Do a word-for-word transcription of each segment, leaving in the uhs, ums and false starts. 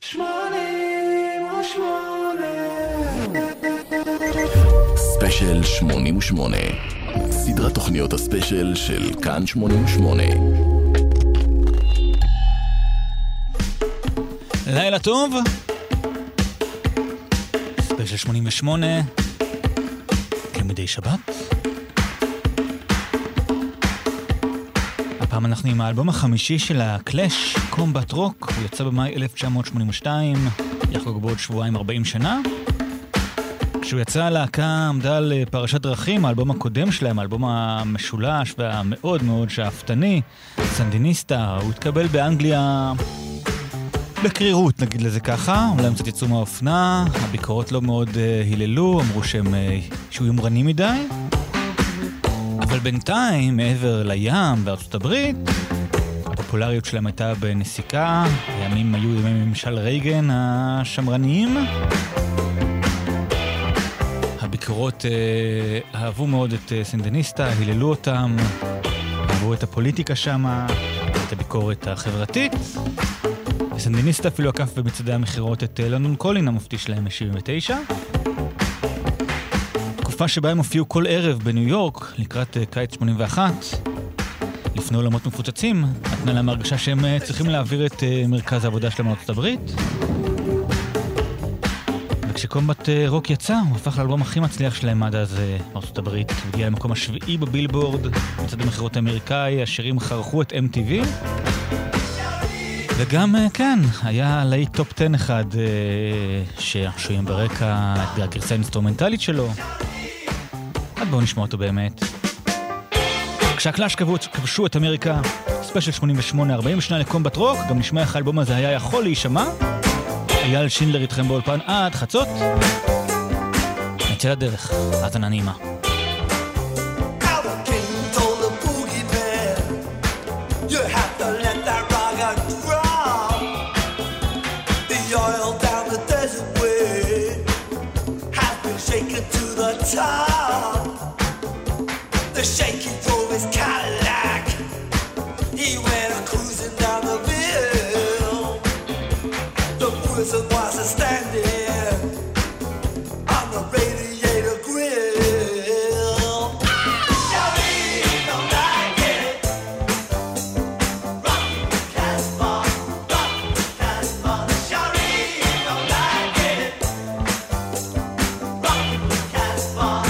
שמונים ושמונה ספיישל שמונים ושמונה, סדרת תוכניות הספיישל של כאן שמונים ושמונה. לילה טוב, ספיישל שמונים ושמונה, כמדי שבת. הפעם אנחנו עם האלבום החמישי של הקלאש, קומבט רוק. הוא יצא במאי אלף תשע מאות שמונים ושתיים, יחגוג בעוד שבועיים ארבעים שנה. כשהוא יצא, הלהקה עמדה על פרשת דרכים. האלבום הקודם שלהם, האלבום המשולש והמאוד מאוד שאפתני, סנדיניסטה, הוא התקבל באנגליה בקרירות, נגיד לזה ככה. אולי הם קצת יצאו מהאופנה, הביקורות לא מאוד uh, היללו, אמרו שהם uh, שהוא יומרני מדי. אבל בינתיים, מעבר לים בארצות הברית, הפופולריות שלהם הייתה בנסיקה. הימים היו ימי ממשל רייגן השמרניים. הביקורות אה, אהבו מאוד את אה, סנדיניסטה, היללו אותם, אהבו את הפוליטיקה שמה, את הביקורת החברתית. סנדיניסטה אפילו עקף במצעדי המחירות את אה, לונדון קולין, המופתי שלהם ב-שבעים ותשע. תקופה שבה הם הופיעו כל ערב בניו יורק, לקראת uh, קיץ שמונים ואחת, לפני עולמות מפוצצים, נתנה להם הרגשה שהם uh, צריכים להעביר את uh, מרכז העבודה שלהם מארצות הברית. וכשקומבט uh, רוק יצא, הוא הפך לאלבום הכי מצליח שלהם עד אז uh, מארצות הברית. הוא הגיע למקום השביעי בבילבורד, מצד המחירות האמריקאי, השירים חרכו את אם טי וי. וגם, uh, כן, היה להיט טופ עשר אחד uh, ששויים ברקע את הגרסה האינסטרומנטלית שלו. עד בואו נשמע אותו באמת. כשהקלאש כבשו את אמריקה, ספיישל שמונים ושמונה, ארבעים שנה לקומבט רוק, גם נשמע איך האלבום הזה היה יכול להישמע. אייל שינדלר איתכם באולפן עד חצות. נצא לדרך, האזנה נעימה. The shaky drove his Cadillac. He went cruising down the hill. The prison was a standing on the radiator grill. Shawty don't like it. Rock Casbah, rock Casbah. Shawty don't like it. Rock Casbah.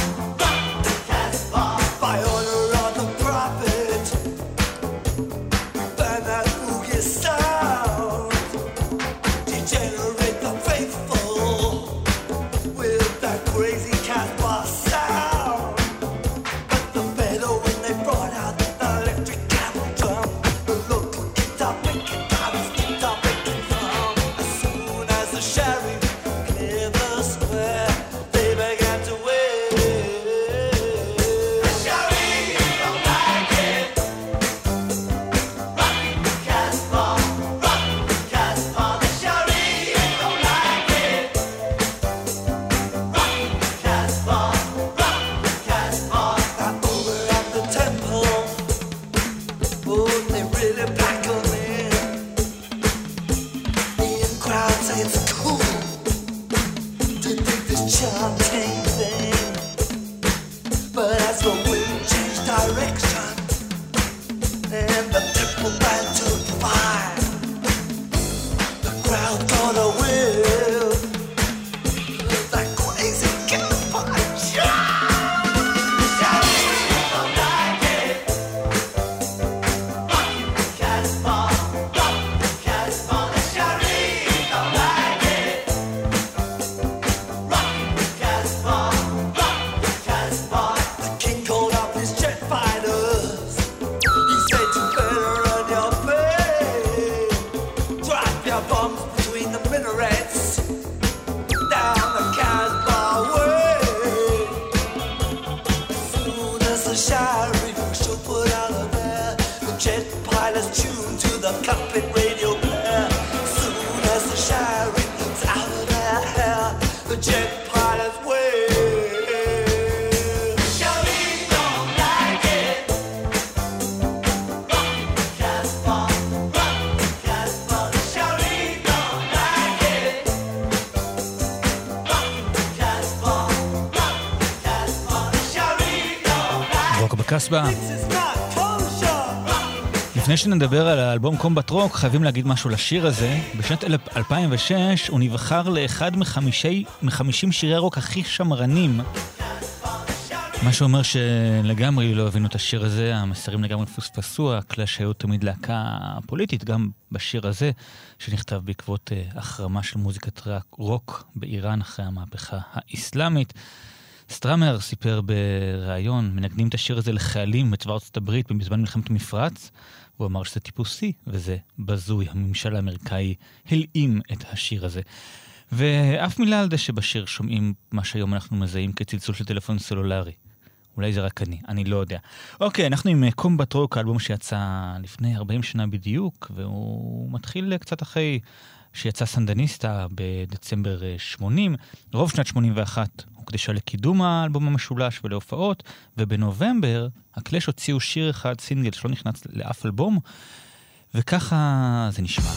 קסבה. This is not kosher. לפני שנדבר על האלבום קומבט רוק, חייבים להגיד משהו לשיר הזה. בשנת אלפיים ושש הוא נבחר לאחד מחמישי, מחמישים שירי הרוק הכי שמרנים. מה שאומר שלגמרי לא הבינו את השיר הזה, המסרים לגמרי פוספסו, הקלאש היו תמיד להקה פוליטית, גם בשיר הזה, שנכתב בעקבות החרמה של מוזיקת רוק באיראן אחרי המהפכה האסלאמית. סטראמר סיפר בריאיון, מנגנים את השיר הזה לחיילים בצבא ארצות הברית בזמן מלחמת המפרץ, הוא אמר שזה טיפוסי, וזה בזוי. הממשל האמריקאי הלאים את השיר הזה. ואף מילה על זה שבשיר שומעים מה שהיום אנחנו מזהים כצלצול של טלפון סלולרי. אולי זה רק אני, אני לא יודע. אוקיי, אנחנו עם קומבט רוק, האלבום שיצא לפני ארבעים שנה בדיוק, והוא מתחיל קצת אחרי שיצא סנדניסטה בדצמבר שמונים. רוב שנת שמונים ואחת הוקדשה לקידום האלבום המשולש ולהופעות, ובנובמבר הקלאש הוציאו שיר אחד, סינגל, שלא נכנס לאף אלבום, וככה זה נשמע.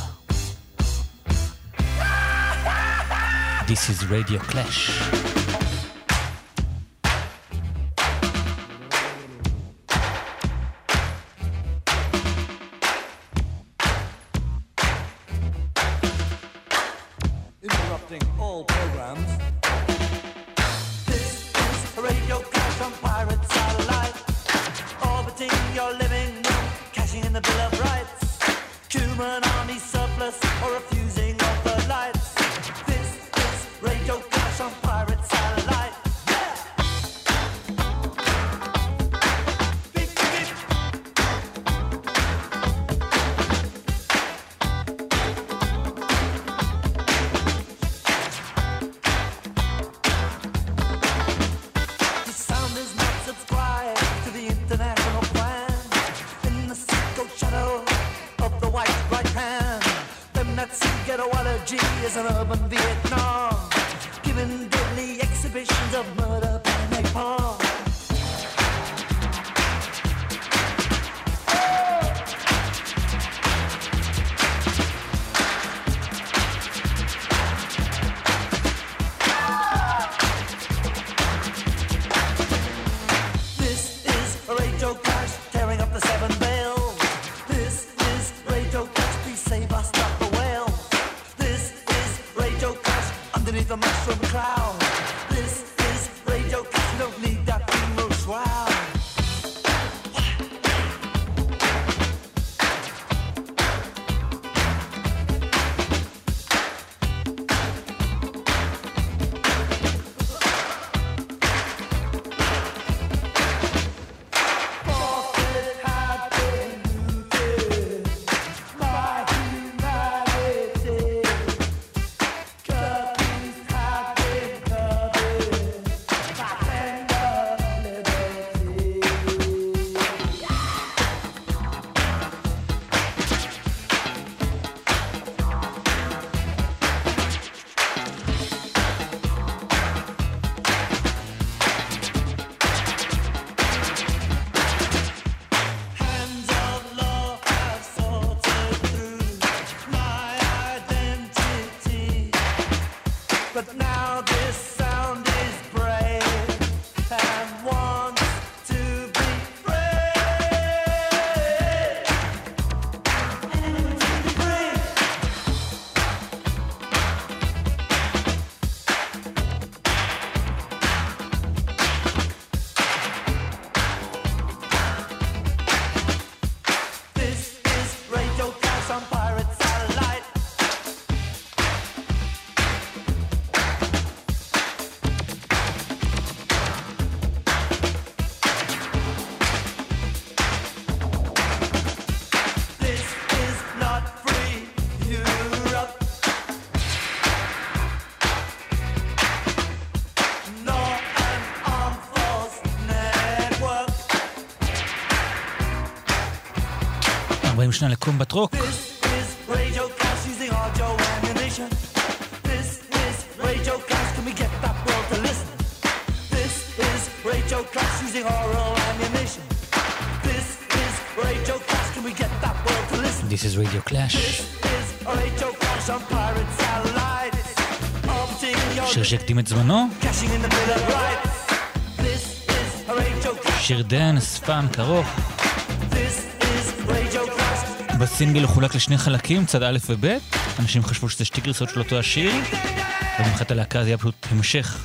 This is Radio Clash. Interrupting all programs. This is Radio Clash on Pirate Satellite. Orbiting your living room, cashing in the Bill of Rights. Human army surplus or refusing of the lights. This is Radio Clash on Pirate Satellite. Yeah! Beep, beep. The sound is not subscribed to the international plan. In the sicko shadow of the white right hand, them that see ghettoology is an urban Vietnam, giving deadly exhibitions of murder and napalm. This is Radio Clash, tearing up the seven veils. This is Radio Clash, please save us, stop the whale. This is Radio Clash, underneath the mushroom cloud. This is Radio Clash, we don't need that funeral shroud. Forfeit had been looted, my humanity. Curtains had been covered by tender liberty. Hands of law have sorted through my identity, but now this sound is brave and wants to be free. Free. This is Radio Clash on Pirate Satellite. This is not free Europe, nor an armed force network. ארבעים שנה לקומבט רוק. This is Radio Clash using audio ammunition. This is Radio Clash, can we get that world to listen? This is Radio Clash using oral ammunition. This is Radio Clash, can we get that world to listen? This is Radio Clash. This is Radio Clash on Pirate Satellite. Orbiting your שיר שהקדים את זמנו. cashing in the Bill of Rights. This is Radio Clash שיר דנס, פאנק ארוך. בסינגל חולק לשני חלקים, צד א' וב'. אנשים חשבו שזה שתי גרסות של אותו השיר, ובמחת הלהקה זה היה פשוט המשך.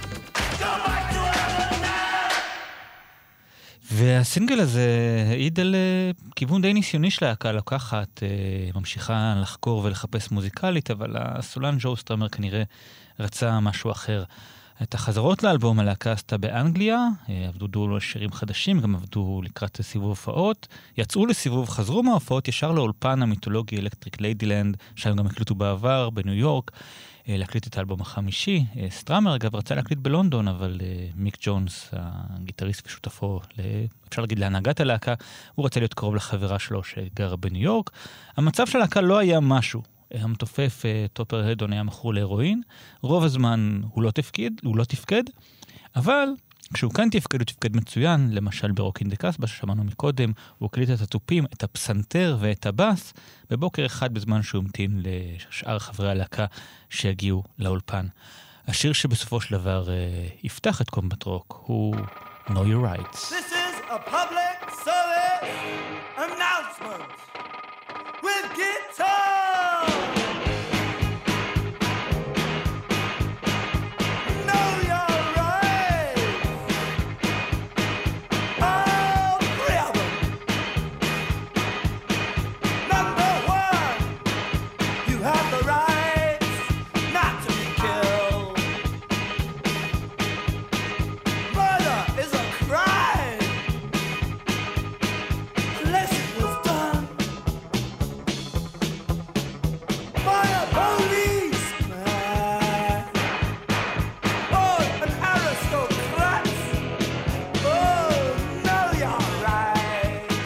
והסינגל הזה העיד על uh, כיוון די ניסיוני של להקה לוקחת, uh, ממשיכה לחקור ולחפש מוזיקלית, אבל הסולן ג'ו סטרמר כנראה רצה משהו אחר. את החזרות לאלבום הלהקה עשתה באנגליה, עבדו דו שירים חדשים, גם עבדו לקראת סיבוב הופעות, יצאו לסיבוב, חזרו מההופעות ישר לאולפן המיתולוגי אלקטריק ליידילנד, שם גם הקליטו בעבר בניו יורק, להקליט את האלבום החמישי. סטרמר אגב רצה להקליט בלונדון, אבל מיק ג'ונס, הגיטריסט ושותפו, אפשר להגיד להנהגת הלהקה, הוא רצה להיות קרוב לחברה שלו שגרה בניו יורק. המצב של הלהקה לא היה משהו. המתופף טופר הדון היה מכור להירואין, רוב הזמן הוא לא תפקד, הוא לא תפקד, אבל כשהוא כאן תפקד, הוא תפקד מצוין, למשל ברוק אין דה קסבה ששמענו מקודם, הוא הקליט את התופים, את הפסנתר ואת הבאס, בבוקר אחד בזמן שהוא המתין לשאר חברי הלהקה שיגיעו לאולפן. השיר שבסופו של דבר uh, יפתח את קומבט רוק הוא Know Your Rights. This is a public service announcement with guitar. Know your rights. All three of them. Number one, you have the rights not to be killed. Murder is a crime unless it was done by a policeman or an aristocrat. Oh, know your rights.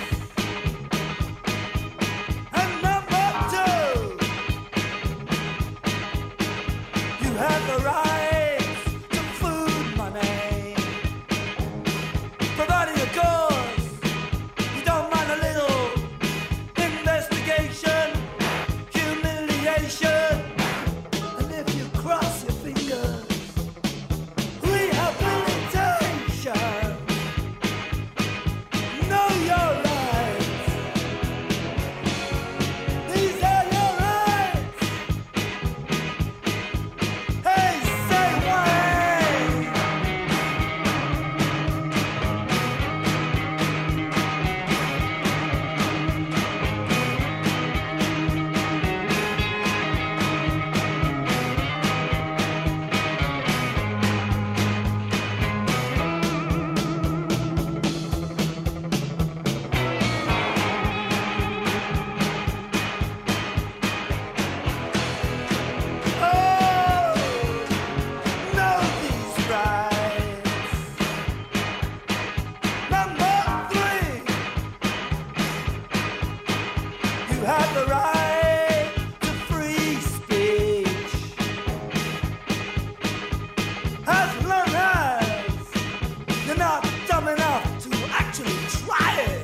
And number two, you have the rights to food money, providing a cause. You don't mind a little investigation, humiliation, and if you cross your fingers, rehabilitation. Know your rights. These are your rights. Hey, say why. Oh, know these rights. Number three, you have the right to free speech, as long as you're not dumb enough to actually try it.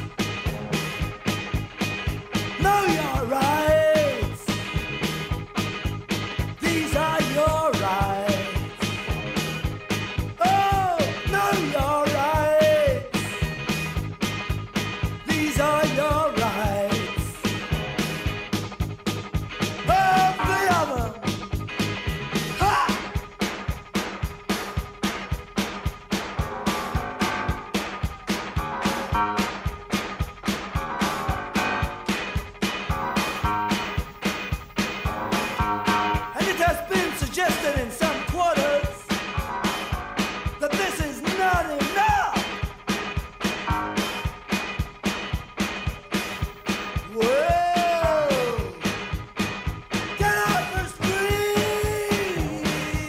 Know your rights. These are your rights. Oh, know your rights. These are your rights. All three of them. Ha! And it has been suggested in some quarters that this is not enough. Whoa! Get off the street!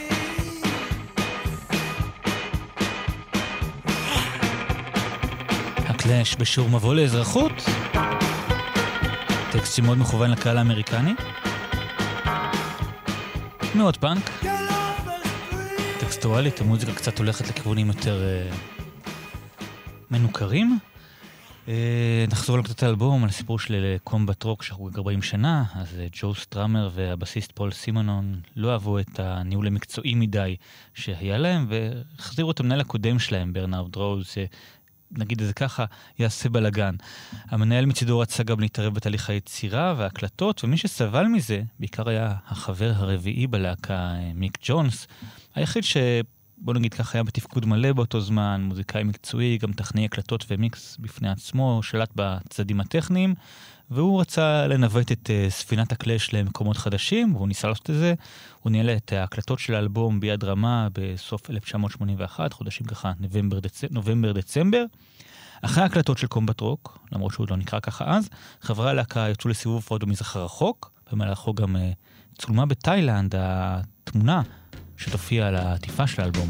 הקלאש בשיעור מבוא לאזרחות, טקסט שמאוד מכוון לקהל האמריקני, מאוד פאנק, Get off the street! טקסטואלית, המוזיקה קצת הולכת לכיוונים יותר uh, מנוכרים. Uh, נחזור לקטעת האלבום, על הסיפור של קומבט רוק שחוגג ארבעים שנה. אז uh, ג'ו סטרמר והבסיסט פול סימונון לא אהבו את הניהול המקצועי מדי שהיה להם, והחזירו את המנהל הקודם שלהם, ברנארד רוז, נגיד את זה ככה, יעשה בלגן. המנהל מצידו רצה גם להתערב בתהליך היצירה וההקלטות, ומי שסבל מזה, בעיקר היה החבר הרביעי בלהקה, מיק ג'ונס, היחיד ש... בוא נגיד ככה, היה בתפקוד מלא באותו זמן, מוזיקאי מקצועי, גם טכנאי הקלטות ומיקס בפני עצמו, שלט בצדדים הטכניים, והוא רצה לנווט את uh, ספינת הקלאש למקומות חדשים, והוא ניסה לעשות את זה. הוא ניהל את ההקלטות של האלבום ביד רמה בסוף אלף תשע מאות שמונים ואחת, חודשים ככה, נובמבר, דצ... נובמבר דצמבר. אחרי ההקלטות של קומבט רוק, למרות שהוא לא נקרא ככה אז, חברי הלהקה יצאו לסיבוב הופעות במזרח הרחוק, במהלכו גם uh, צולמה בתאילנד, התמונה שתופיע על העטיפה של האלבום.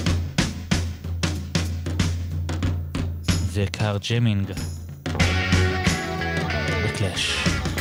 זה קאר ג'מינג בקלאש.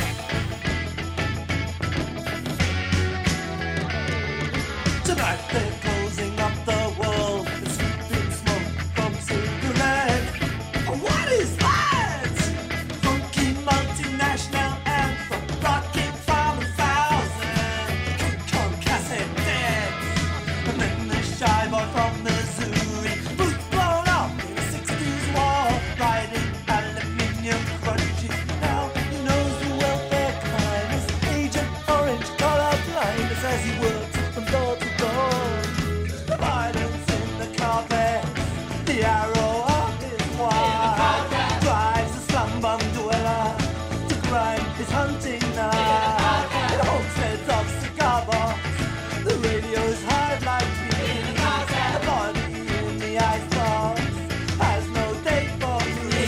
Tonight they're closing up the world and sweeping smoke from cigarettes. Oh, what is that? Funky multinational anthem rocking from a thousand concassette decks. And then the shy boy from Missouri, boots blown up in the sixties war, riding aluminium crutches. Now he knows the welfare kindness, Agent Orange color blindness as he works from door to door. The violence in the carpet, the arrow of his wife drives the slum bum dweller to grind his hunting knife. In homesteads of cigar box, the radio's hard like green. The body in the icebox has no date for me.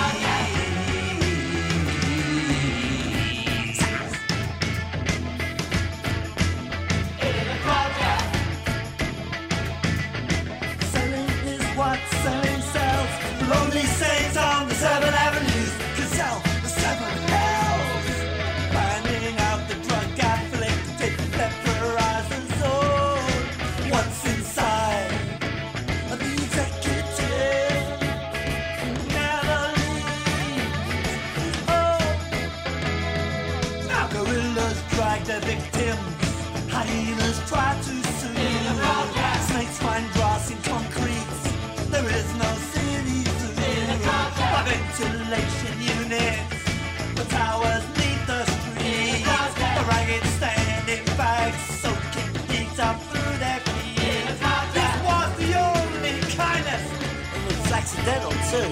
Selling is what selling sells. Lonely saints on the seven avenues can sell the seven hells. Finding out the drug afflicted vaporizer zone. Once inside of the executive, never leaves. Oh, now gorillas drag their victims. Hyenas try to soothe. Snakes find grass in concrete. There is no city zoo. By ventilation units, the towers lead the streets. The ragged standing bags soaking heat up through their feet. This was the only kindness. It was accidental too.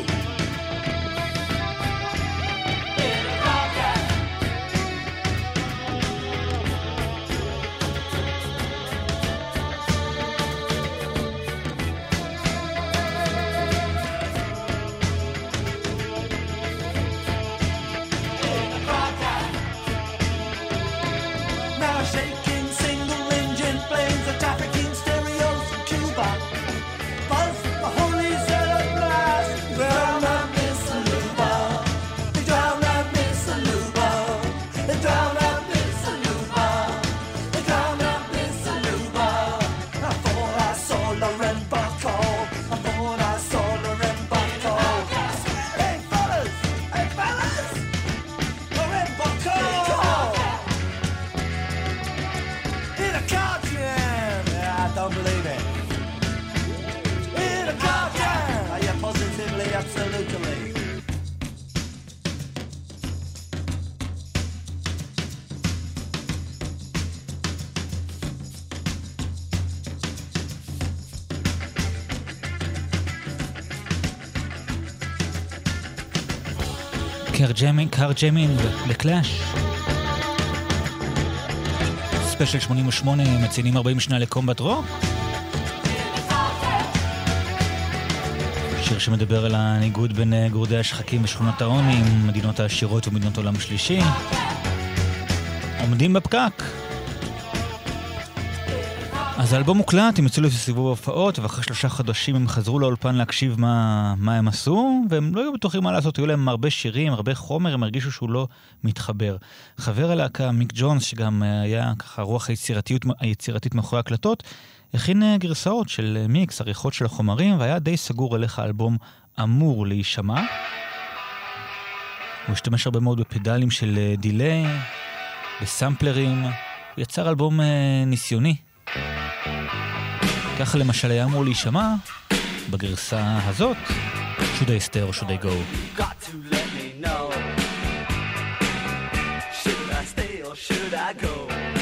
Now shaking single engine planes are trafficking stereos from Cuba. Buzz the holy zealot blast. Drown that Miss Aluba. They drown that Miss Aluba. They drown that Miss Aluba. They drown that Miss Aluba. I thought I saw Lauren Bacall. I thought I saw Lauren Bacall. Hey fellas, hey fellas, Lauren Bacall. In a car jam, I don't believe it. In a car jam, are you positively, absolutely? קאר ג'מינג, קאר ג'מינג בקלאש. ספיישל שמונים ושמונה, מציינים ארבעים שנה לקומבט רוק. שיר שמדבר על הניגוד בין גורדי השחקים בשכונות העוני, מדינות העשירות ומדינות עולם שלישי. עומדים בפקק. אז האלבום מוקלט, הם יצאו לסיבוב ההופעות, ואחרי שלושה חודשים הם חזרו לאולפן להקשיב מה, מה הם עשו, והם לא היו בטוחים מה לעשות, היו להם הרבה שירים, הרבה חומר, הם הרגישו שהוא לא מתחבר. חבר הלהקה, מיק ג'ונס, שגם היה ככה רוח היצירתיות, היצירתית מאחורי הקלטות, הכין גרסאות של מיקס, עריכות של החומרים, והיה די סגור על איך האלבום אמור להישמע. הוא השתמש הרבה מאוד בפדלים של דילי, בסמפלרים, הוא יצר אלבום ניסיוני. ככה למשל היה אמור להישמע בגרסה הזאת Should I stay or should I go? Got to let me know. Should I stay or should I go?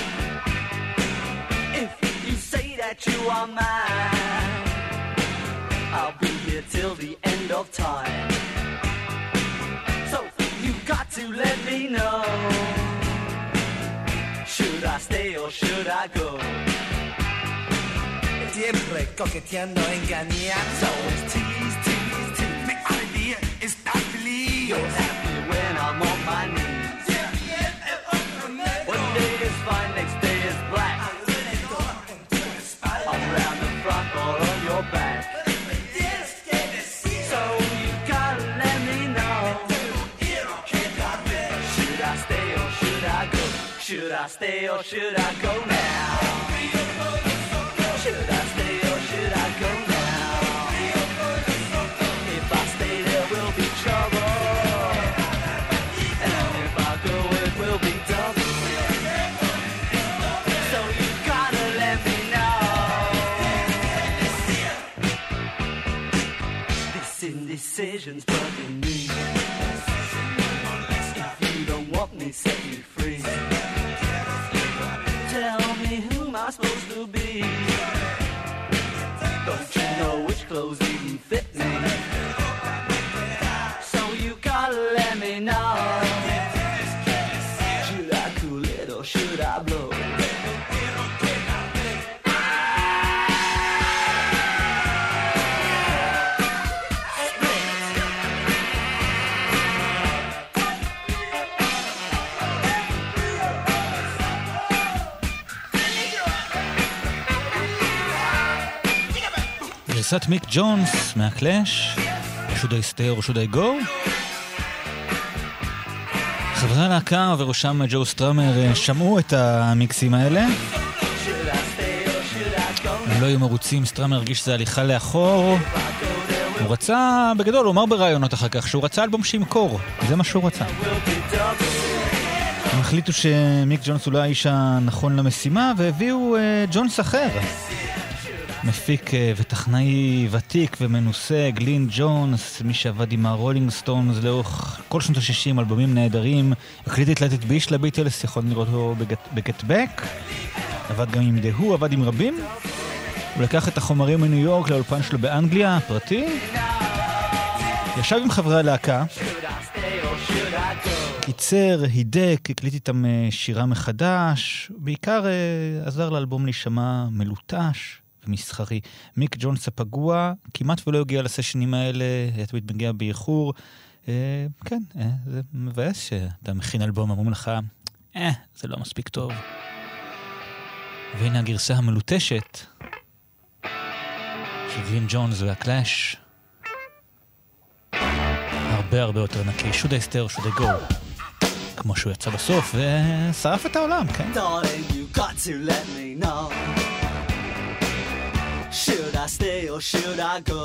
If you say that you are mine, I'll be here till the end of time. So you got to let me know. Should I stay or should I go? Siempre coqueteando, engañando. So it's tease, tease, tease. Mi alegría está feliz. You're happy when I'm on my knees. One day is fine, next day is black. I'm round the front or on your back. So you gotta let me know. Should I stay or should I go? Should I stay or should I go now? Should I stay or should I go now? If I stay there will be trouble, and if I go it will be double. So you gotta let me know. This indecision's bugging me. If you don't want me, set me free. Tell me who am I supposed to be? Don't you know which clothes even fit me? So you gotta let me know. Should I cool it or should I blow? גרסת מיק ג'ונס מהקלאש, should I stay or should I go? חברי הלהקה ובראשם ג'ו סטראמר שמעו את המיקסים האלה. הם לא היו מרוצים, סטראמר הרגיש שזה הליכה לאחור. הוא רצה, בגדול, הוא אמר ברעיונות אחר כך, שהוא רצה אלבום שימכור. זה מה שהוא רצה. הם החליטו שמיק ג'ונס הוא לא האיש הנכון למשימה, והביאו uh, ג'ונס אחר. מפיק וטכנאי ותיק ומנוסה, גלין ג'ונס, מי שעבד עם הרולינג סטונס לאורך כל שנות ה-שישים, אלבומים נהדרים, הקליט את Let It Be של הביטלס, יכול לראות אותו ב-Get Back, עבד גם עם The Who, עבד עם רבים, הוא לקח את החומרים מניו יורק לאולפן שלו באנגליה, פרטי, ישב עם חברי הלהקה, ייצר, הידק, הקליט איתם שירה מחדש, בעיקר עזר לאלבום להישמע מלוטש, ומסחרי. מיק ג'ונס הפגוע כמעט ולא הגיע לסשנים האלה, היה תמיד מגיע באיחור. אה, כן, אה, זה מבאס שאתה מכין אלבום, אמרו לך, אה, זה לא מספיק טוב. והנה הגרסה המלוטשת של גלין ג'ונס והקלאש. הרבה הרבה יותר נקי. should I stay or should I go? כמו שהוא יצא בסוף ושרף את העולם, כן? Darling, you got to let me know. Should I stay or should I go?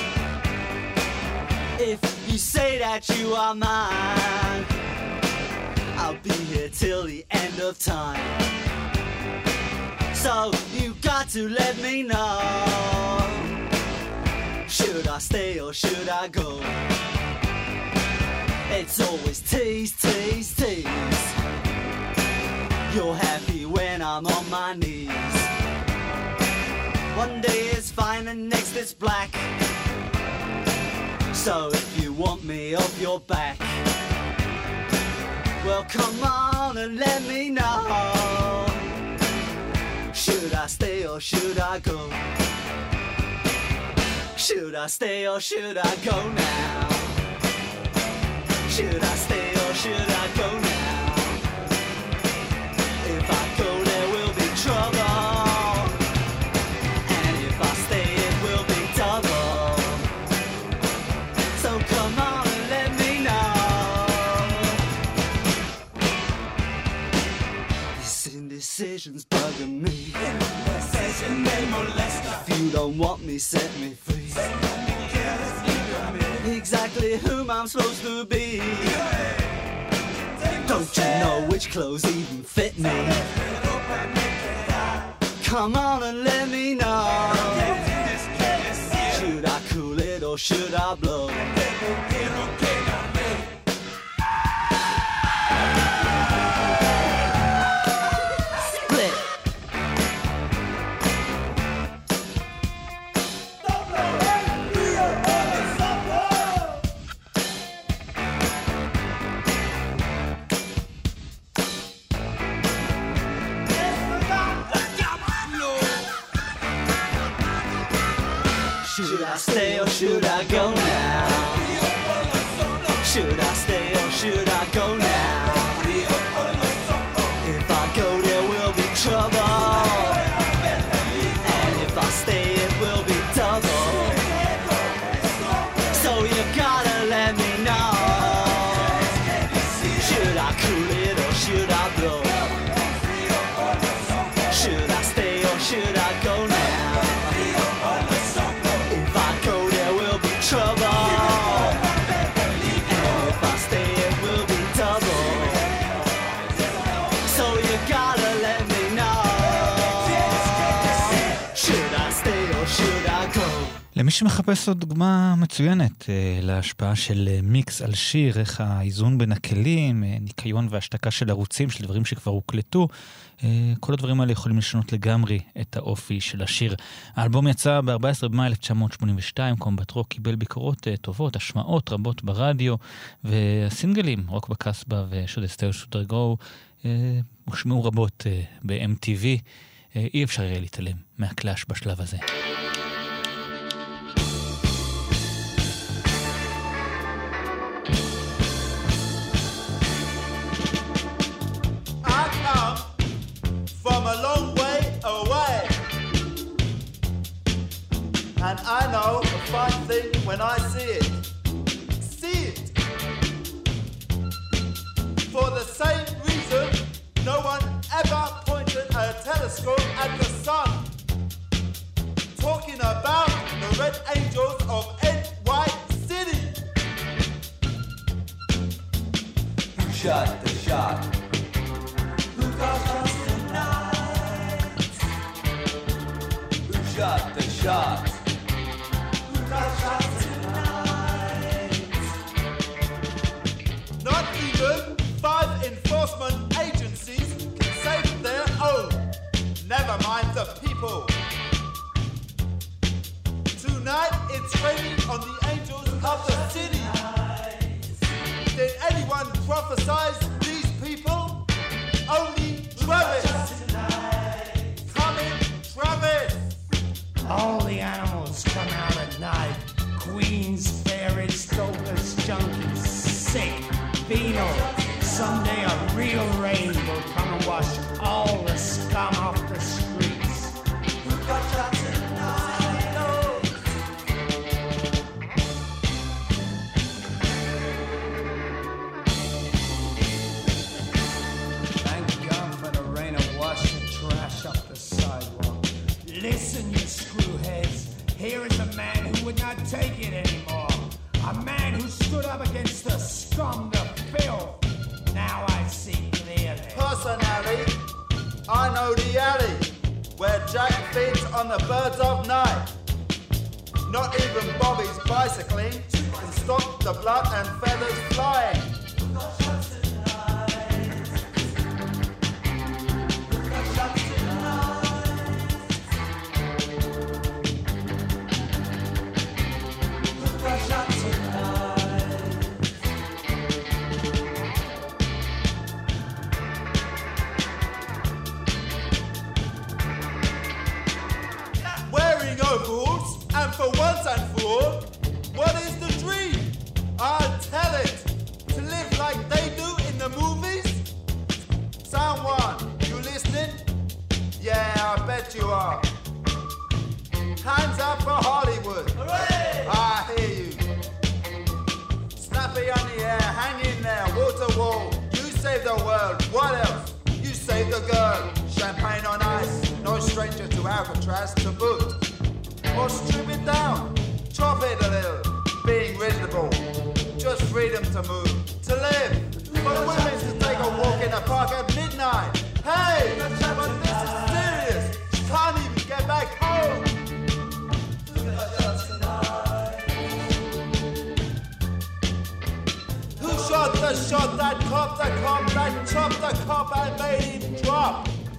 If you say that you are mine, I'll be here till the end of time. So you got to let me know. Should I stay or should I go? It's always tease, tease, tease. You're happy when I'm on my knees. One day is fine and next is black. So if you want me off your back, well come on and let me know. Should I stay or should I go? Should I stay or should I go now? Should I stay or should I go now? If I go there will be trouble. Decisions bugging me. If you don't want me, set me free. Exactly whom I'm supposed to be. Don't you know which clothes even fit me? Come on and let me know. Should I cool it or or should I blow? Split. Should I stay or should I go now? Should I stay or should I go now? If I go there will be trouble, and if I stay it will be double. So you gotta let me know. Should I cool it or should I blow? Should I stay or should I go now? Trouble, and if I stay it will be double. So you gotta let me know. Should I stay or should I go? למי שמחפש עוד דוגמה מצוינת להשפעה של מיקס על שיר, איך האיזון בין הכלים, ניקיון והשתקה של ערוצים, של דברים שכבר הוקלטו, כל הדברים האלה יכולים לשנות לגמרי את האופי של השיר. האלבום יצא ב-ארבעה עשר במאי אלף תשע מאות שמונים ושתיים, קומבט רוק קיבל ביקורות טובות, השמעות רבות ברדיו, והסינגלים, רוק בקסבה ושוד אסתר שודר גו, הושמעו רבות ב-אם טי וי. אי אפשר יהיה להתעלם מהקלאש בשלב הזה. From a long way away, and I know a fine thing when I see it. See it. For the same reason, no one ever pointed a telescope at the sun. Talking about the Red Angels of N Y City. Who shot the shot? Who got us tonight? Who shot the shot? Who got us tonight? Not even five enforcement agencies can save their own. Never mind the people. Tonight it's raining on the angels of the city. Did anyone prophesize these people? Only Travis. Come in, Travis. All the animals come out at night. Queens, fairies, dopers, junkies, sick, venal. Someday a real rain will come and wash all the scum off the streets. Who got shot tonight? Thank God for the rain to wash the trash up the sidewalk. Listen, you screwheads. Here is a man who would not take it anymore. A man who stood up against the scum, the filth. Now I see clearly. Personally, I know the alley where Jack feeds on the birds of night. Not even Bobby's bicycling can stop the blood and feathers flying. Wearing overalls, and for once and for all, what is the dream? I'll tell it. To live like they do in the movies? Someone, you listening? Yeah, I bet you are. Hands up for Hollywood. Hooray! I hear you. Snappy on the air, hang in there, wall to wall. You save the world, what else? You save the girl. Champagne on ice, no stranger to Alcatraz to boot. Or strip it down, chop it a little, being reasonable. Just freedom to move, to live. For the women to take a walk in the park at midnight. Hey, but this is serious. She can't even get back home. that shot that cop, the cop that chopped the cop and made him drop.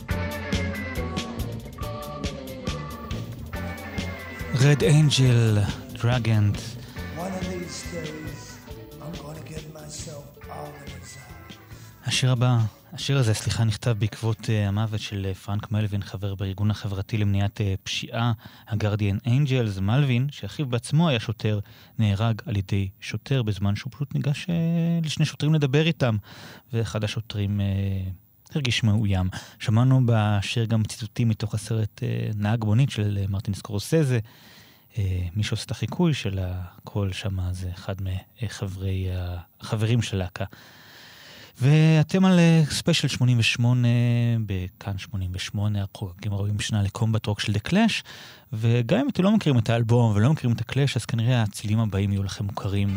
Red Angel, Dragant. One of these days, I'm gonna get myself all in his eye. השיר הבא, השיר הזה, סליחה, נכתב בעקבות uh, המוות של uh, פרנק מלווין, חבר בארגון החברתי למניעת uh, פשיעה, הגרדיאן אנג'לס. מלווין, שאחיו בעצמו היה שוטר, נהרג על ידי שוטר בזמן שהוא פשוט ניגש uh, לשני שוטרים לדבר איתם, ואחד השוטרים uh, הרגיש מאוים. שמענו בשיר גם ציטוטים מתוך הסרט uh, נהג מונית של uh, מרטין סקורסזה, uh, מי שעושה את החיקוי של הקול שם, זה אחד מחברי החברים של להקה. ואתם על ספיישל שמונים ושמונה, בכאן שמונים ושמונה, החוגגים ארבעים שנה לקומבט רוק של The Clash, וגם אם אתם לא מכירים את האלבום ולא מכירים את הקלאש, אז כנראה הצילים הבאים יהיו לכם מוכרים.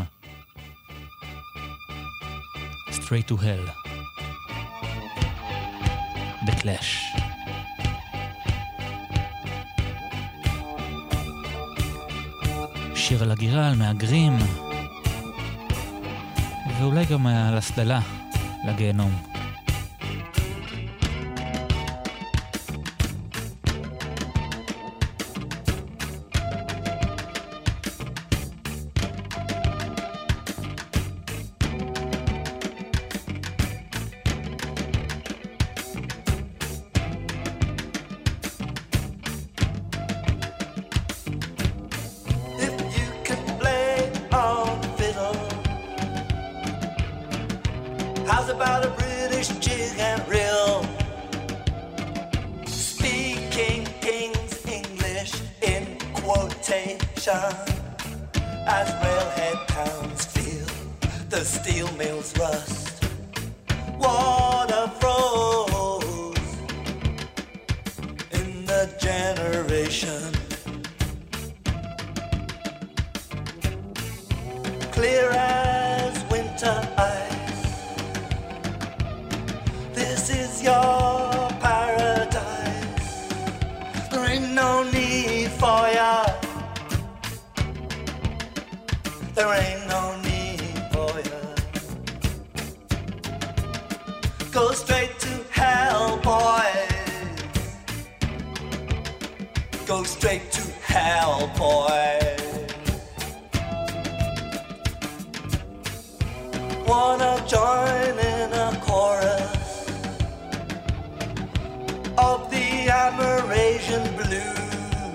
Straight to Hell, The Clash. שיר על הגירה, על מהגרים, ואולי גם על הסללה לגיהנום. As railhead towns feel the steel mills rust, water froze in the generation, clear as winter ice. This is your paradise. There ain't no need for ya. There ain't no need for you. Go straight to hell, boys. Go straight to hell, boys. Wanna join in a chorus of the Amerasian blues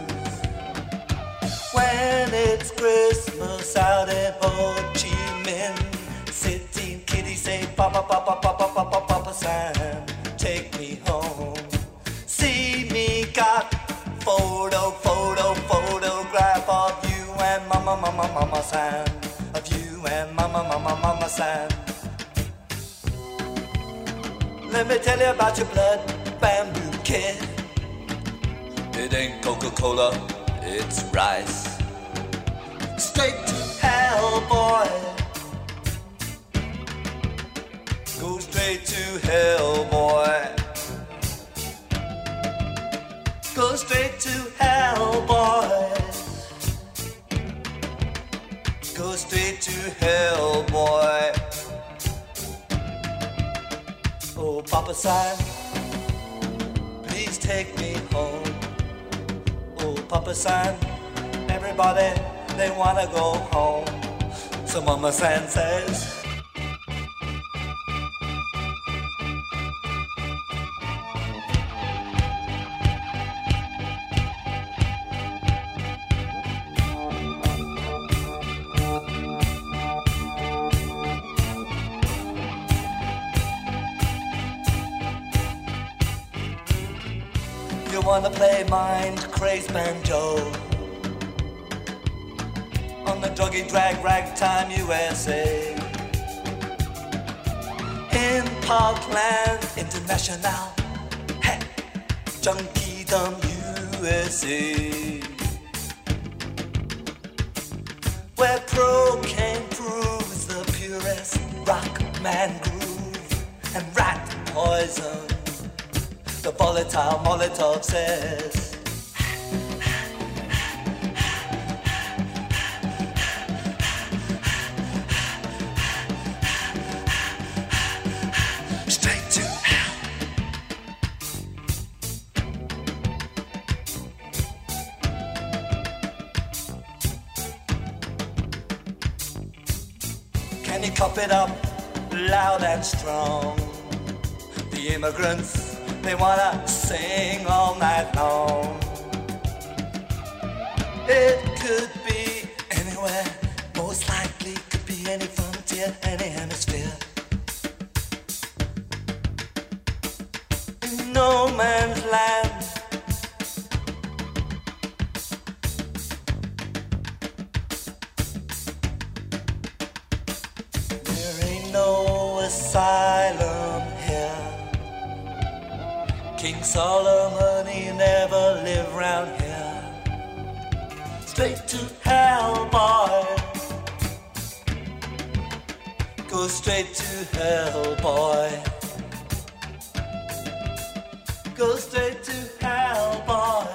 when it's Christmas out in Ho Chi Minh City. Kitties say, Papa, Papa, Papa, Papa, Papa Sam, take me home. See me got photo, photo, photograph of you and Mama, Mama, Mama Sam, of you and Mama, Mama, Mama Sam. Let me tell you about your blood bamboo kid. It ain't Coca-Cola, it's rice. Straight to hell, boy. Go straight to hell, boy. Go straight to hell, boy. Go straight to hell, boy. Oh, Papa San, please take me home. Oh, Papa San, everybody, they wanna go home. So Mama San says, you wanna play mind crazed banjo on the druggy drag ragtime U S A in Parkland International, hey, Junkiedom U S A, where cocaine proves the purest rock man groove and rat poison. The volatile Molotov says, Can you cop it up loud and strong? The immigrants, they wanna sing all night long. It could be anywhere, most likely could be any frontier, any hemisphere. In no man's land. There ain't no asylum here. King Solomon, he never lived round here. Straight to hell, boy. Go straight to hell, boy. Go straight to hell, boy.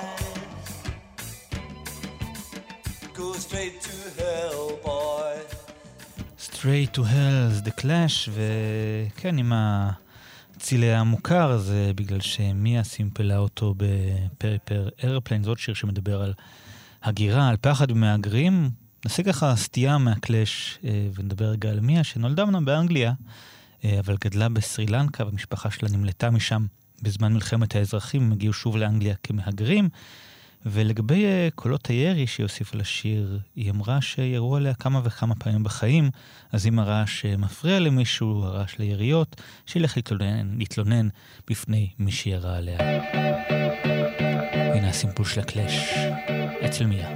Go straight to hell, boy. Straight to hell, The Clash, וכן, עם הצילי המוכר, זה בגלל שמיה סימפלה אותו בפריפר איירפליין, זאת שיר שמדבר על הגירה, על פחד ומהגרים. נעשה ככה סטייה מהקלאש ונדבר רגע על מיה, שנולדה אמנם באנגליה, אבל גדלה בסרי לנקה, והמשפחה שלה נמלטה משם בזמן מלחמת האזרחים, הם הגיעו שוב לאנגליה כמהגרים, ולגבי קולות הירי שהיא הוסיפה לשיר, היא אמרה שירו עליה כמה וכמה פעמים בחיים, אז אם הרעש מפריע למישהו, הרעש ליריות, שילך להתלונן, להתלונן בפני מי שירה עליה. הנה הסימפול של הקלאש, אצל מיה.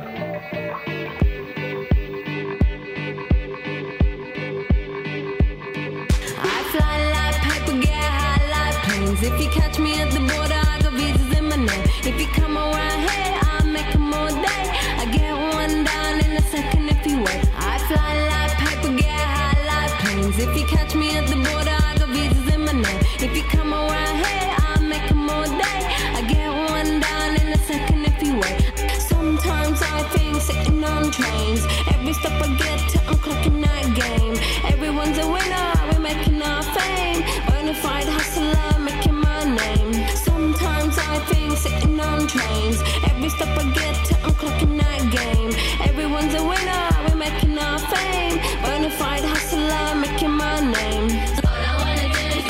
If you catch me at the border, I got visas in my name. If you come around here, I'll make them all day. I get one down in a second if you wait. I fly like paper, get high like planes. If you catch me at the border, I got visas in my name. If you come around here, I'll make them all day. I get one down in a second if you wait. Sometimes I think sitting on trains. Every step I get to, I'm clocking that game. Everyone's a winner, we're making our fame. Bonafide hustler, making my name. Sometimes I think sitting on trains. Every step I get to, I'm clocking that game. Everyone's a winner, we're making our fame. Bonafide hustler, making my name. All I wanna do is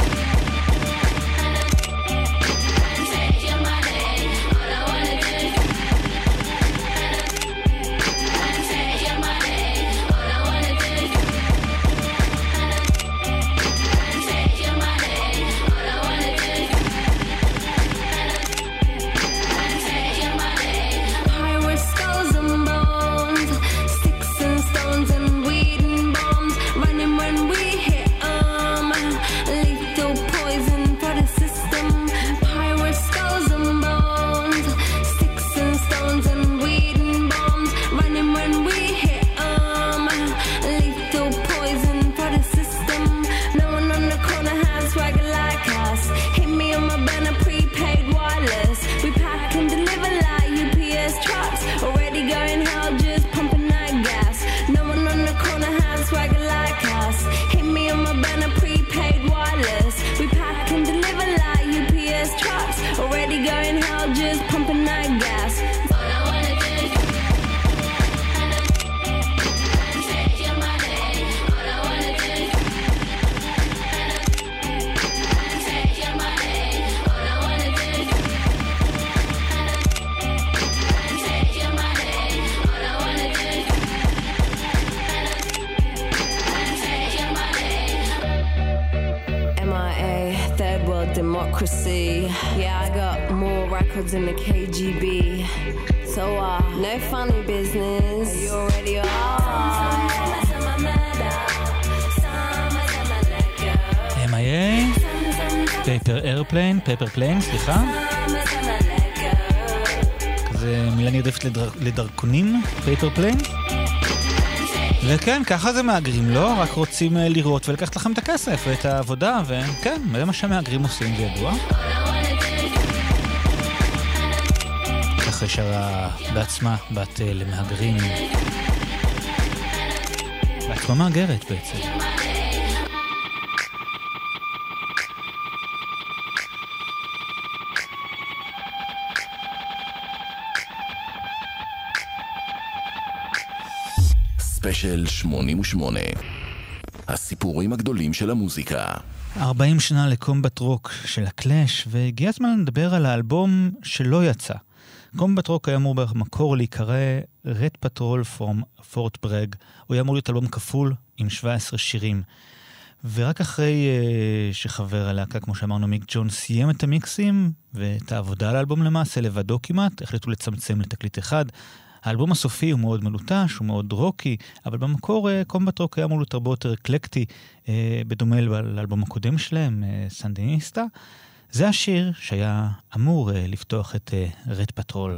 take your money. All I wanna do is take your money. All I wanna do is take your money. All I wanna do is take your money. Pirate skulls and bones, sticks and stones and weed and bombs, running when we hit 'em. Lethal poison for the system. Pirate skulls and bones, sticks and stones and weed and bombs, running when we hit 'em. Lethal poison for the system. No one on the corner has swagger like us. Hit me on my banner, prepaid wireless. We pack and deliver like U P S trucks. Already going hell, just pumping that gas. No one on the corner has swagger like us. Hit me on my banner, prepaid wireless. We pack and deliver like U P S trucks. Already going hell, just pumping that gas. All I wanna do is take your money. All I wanna do is take your money. All I wanna do is take your money. All I wanna do is take your money. M I A, third world democracy. Yeah, I got more records than the K G B. So, uh, no funny business. You already are. M I A, Paper Airplane, Paper Plane, סליחה. כזה מילה נרדפת לדר... לדרכונים, Paper Plane. וכן, ככה זה מאגרים, לא? רק רוצים לראות ולקחת לכם את הכסף ואת העבודה, וכן, זה מה שהמאגרים עושים, זה ידוע. ככה שרה בעצמה, בת למאגרים. בעצמה מאגרת בעצם. ספיישל שמונים ושמונה. הסיפורים הגדולים של המוזיקה. ארבעים שנה לקומבט רוק של הקלאש, והגיע הזמן לדבר על האלבום שלא יצא. קומבט רוק היה אמור במקור להיקרא Red Patrol from Fort Bragg. הוא היה אמור להיות אלבום כפול עם שבעה עשר שירים. ורק אחרי uh, שחבר הלהקה, כמו שאמרנו, מיק ג'ון, סיים את המיקסים ואת העבודה על האלבום למעשה, לבדו כמעט, החליטו לצמצם לתקליט אחד. האלבום הסופי הוא מאוד מלוטש, הוא מאוד רוקי, אבל במקור uh, קומבט רוק היה אמור להיות הרבה יותר אקלקטי, uh, בדומה לאלבום הקודם שלהם, uh, סנדיניסטה. זה השיר שהיה אמור uh, לפתוח את uh, רד פטרול.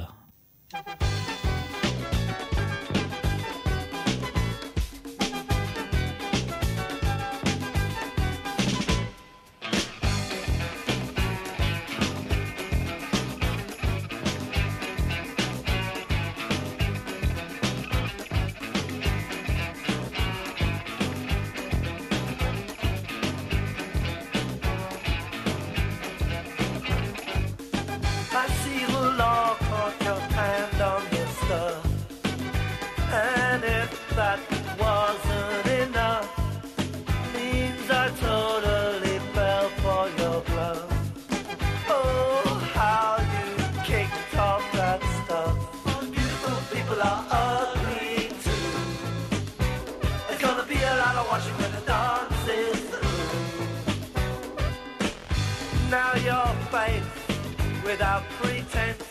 Without pretense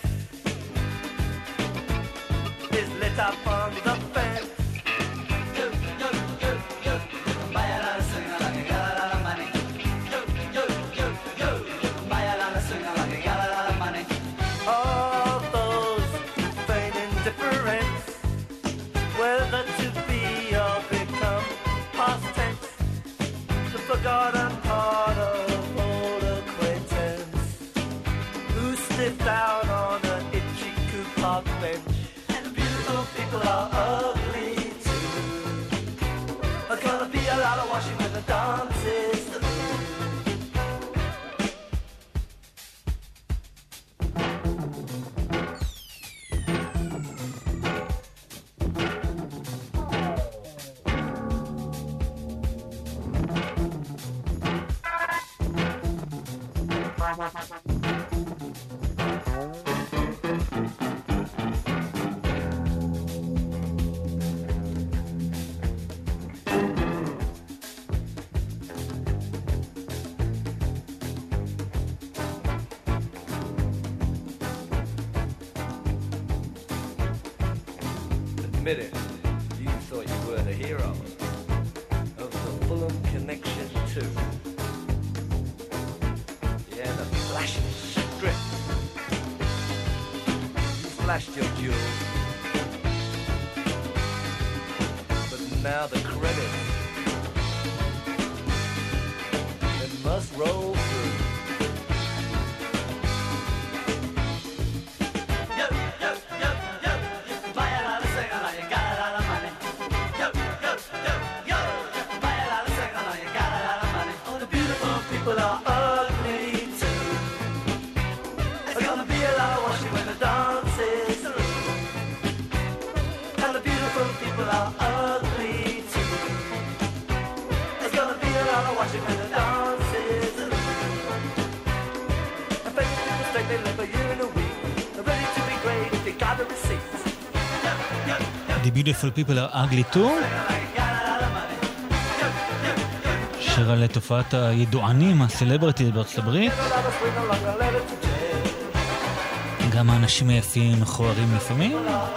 is lit up on the fence. Yo, yo, yo, yo, you can buy a lot of singer like you got a lot of money. Yo, yo, yo, yo, you can buy a lot of singer like you got a lot of money. All those who feign indifference, whether to be or become past tense, the forgotten part of out on an itchy coupon bench. And the beautiful people are ugly too. There's gonna be a lot of washing when the dance is through. Admit it, you thought you were the hero of the Fulham Connection too. Yeah, the flashing strip. You flashed your jewels, but now the credits, it must roll through. The Beautiful People are Ugly Too, שיר על תופעת הידוענים, הסלבריטי בארצות הברית. גם האנשים היפים מכוערים לפעמים.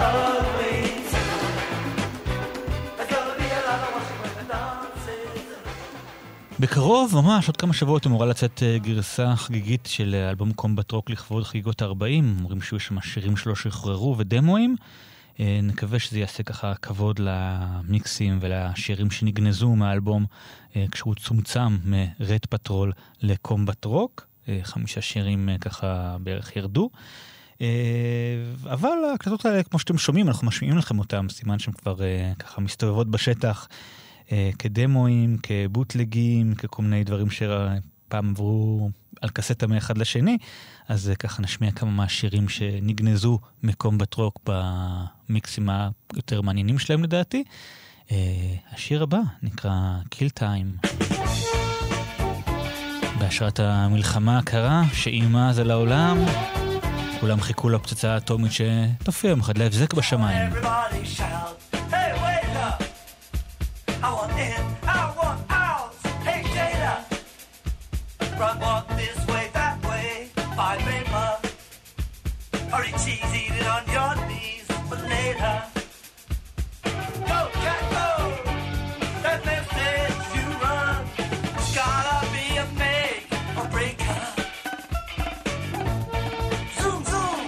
בקרוב, ממש, עוד כמה שבועות אמורה לצאת גרסה חגיגית של אלבום קומבט רוק לכבוד חגיגות ה-ארבעים. אומרים שיהיו שם שירים שלו שחררו ודמואים. נקווה שזה יעשה ככה כבוד למיקסים ולשירים שנגנזו מהאלבום כשהוא צומצם מרד פטרול לקומבט רוק. חמישה שירים ככה בערך ירדו. אבל ההקלטות האלה, כמו שאתם שומעים, אנחנו משמיעים לכם אותם, סימן שהם כבר ככה מסתובבות בשטח כדמואים, כבוטלגים, ככל מיני דברים שפעם עברו על קסטה מאחד לשני. אז ככה נשמיע כמה מהשירים שנגנזו מקומבט רוק במיקסים היותר מעניינים שלהם לדעתי. השיר הבא נקרא Kill Time. בהשראת המלחמה הקרה שאימה אז על העולם, כולם חיכו לפצצה האטומית שתופיע יום אחד להבזק בשמיים. Everybody shout, hey waiter, I want in, I want out, hey Jada, run walk this way, that way, buy paper, hurry cheese, eat it on your knees, but later, go cat go, that message you run, it's gotta be a make or breaker. Zoom zoom.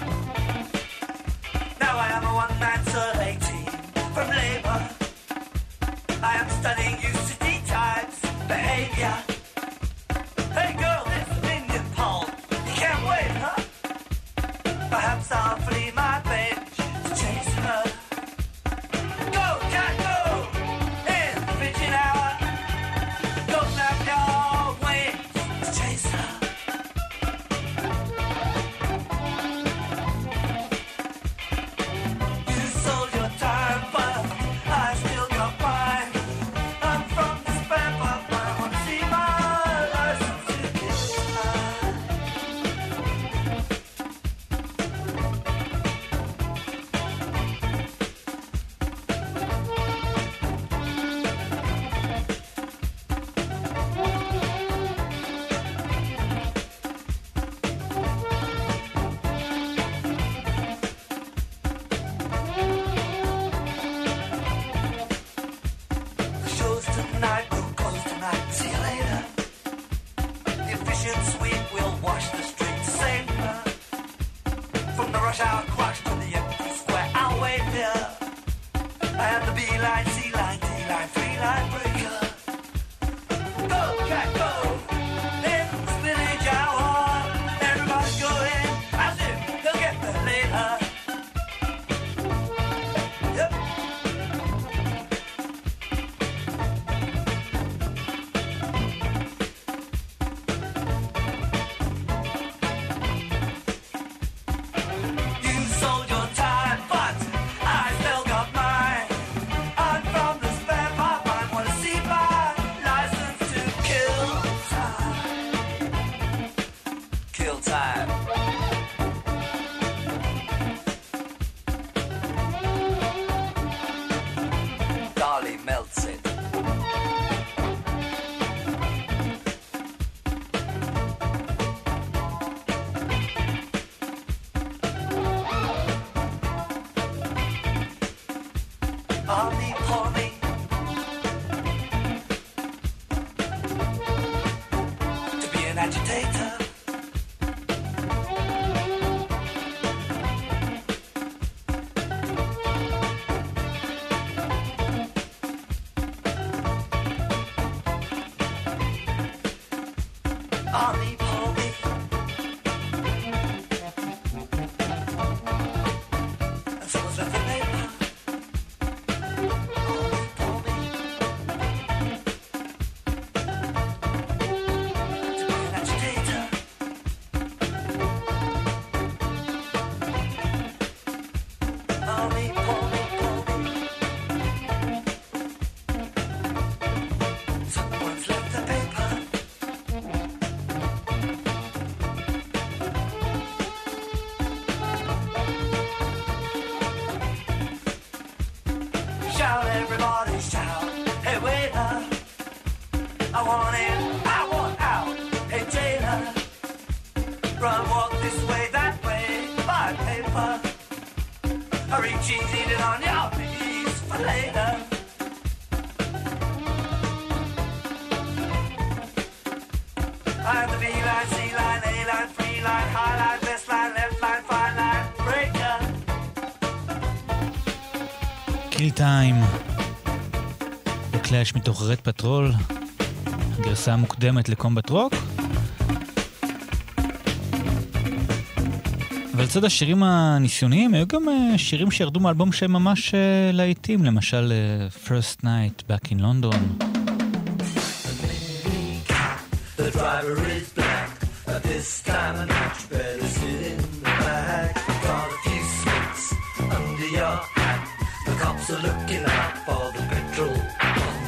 Now I am a one-man survey team from Labour. I am studying you city types, behavior. Hey girl, this opinion poll, you can't wait, huh? Perhaps I'll flee my bench to chase her. Go, cat, go! In the pigeon hour. Go, snap your wings to chase her. You sold your time, but I still got mine. I'm from the spam, but I wanna see my license to kill time. The show's tonight, we'll close tonight. See you later. The efficient sweep will wash the streets safer. From the rush hour crush to the empty square, I'll wait there. I am the B-line, C-line, D-line, three-line breaker. Go, cat, go! In the spinach hour, everybody go in as if they'll get there later. Yep. You sold your time, but I still got mine. I'm from the spare pipeline, wanna see my license to kill time. Kill time. Dolly melts it. Army, army. To be an agitator. Army, army. And someone's left the paper. Shout, everybody shout. Hey waiter, I want in, I want out. Hey jailer, run walk this way, that way, buy paper. Hurry cheese, eat it on your knees for later. I'm the B-line, C-line, A-line, free line, high line, best line, left line, fine line, breaker. Kill Time. בקלאש מתוך רד פטרול, הגרסה המוקדמת לקומבט רוק. אבל לצד השירים הניסיוניים, היו גם שירים שירדו מאלבום שהם ממש להיטים, למשל First Night Back in London. The driver is black, but this time I much better sit in the back. Got a few sweets under your hat, the cops are looking out for the petrol bomb.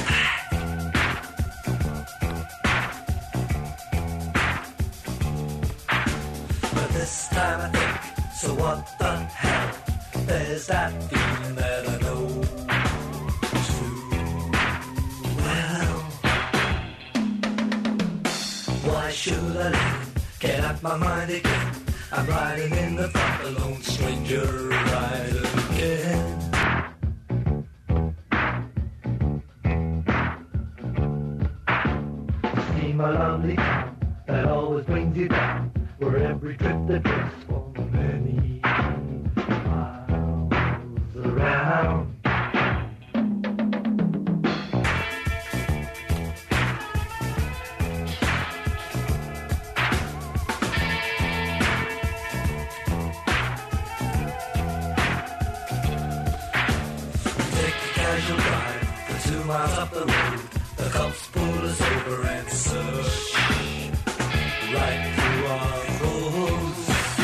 But this time I think, so what the hell? There's that feeling that I know too well. Why should I live? Get out my mind again. I'm riding in the front, a lone stranger rider again. See my lovely town that always brings you down, where every trip that takes for many miles around. Miles up the road, the cops pull us over and search right through our clothes.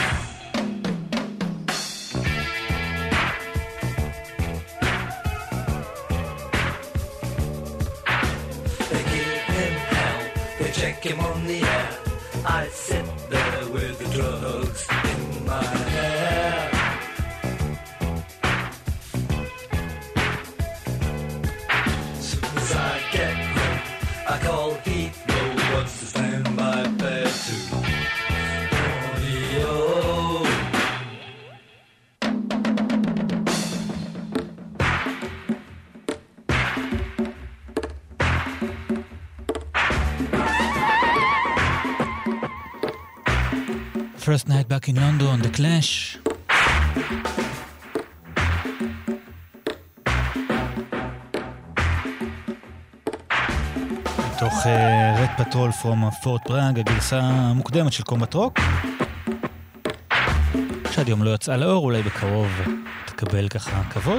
They give him hell, they check him on the air. I sit there with the drugs in my hair. I call Heathrow, what's the standby fare to audio? First Night Back in London, The Clash. מתוך רד פטרול פרום פורט פראג, הגרסה המוקדמת של קומבט רוק, שעד יום לא יצאה לאור, אולי בקרוב תקבל ככה כבוד.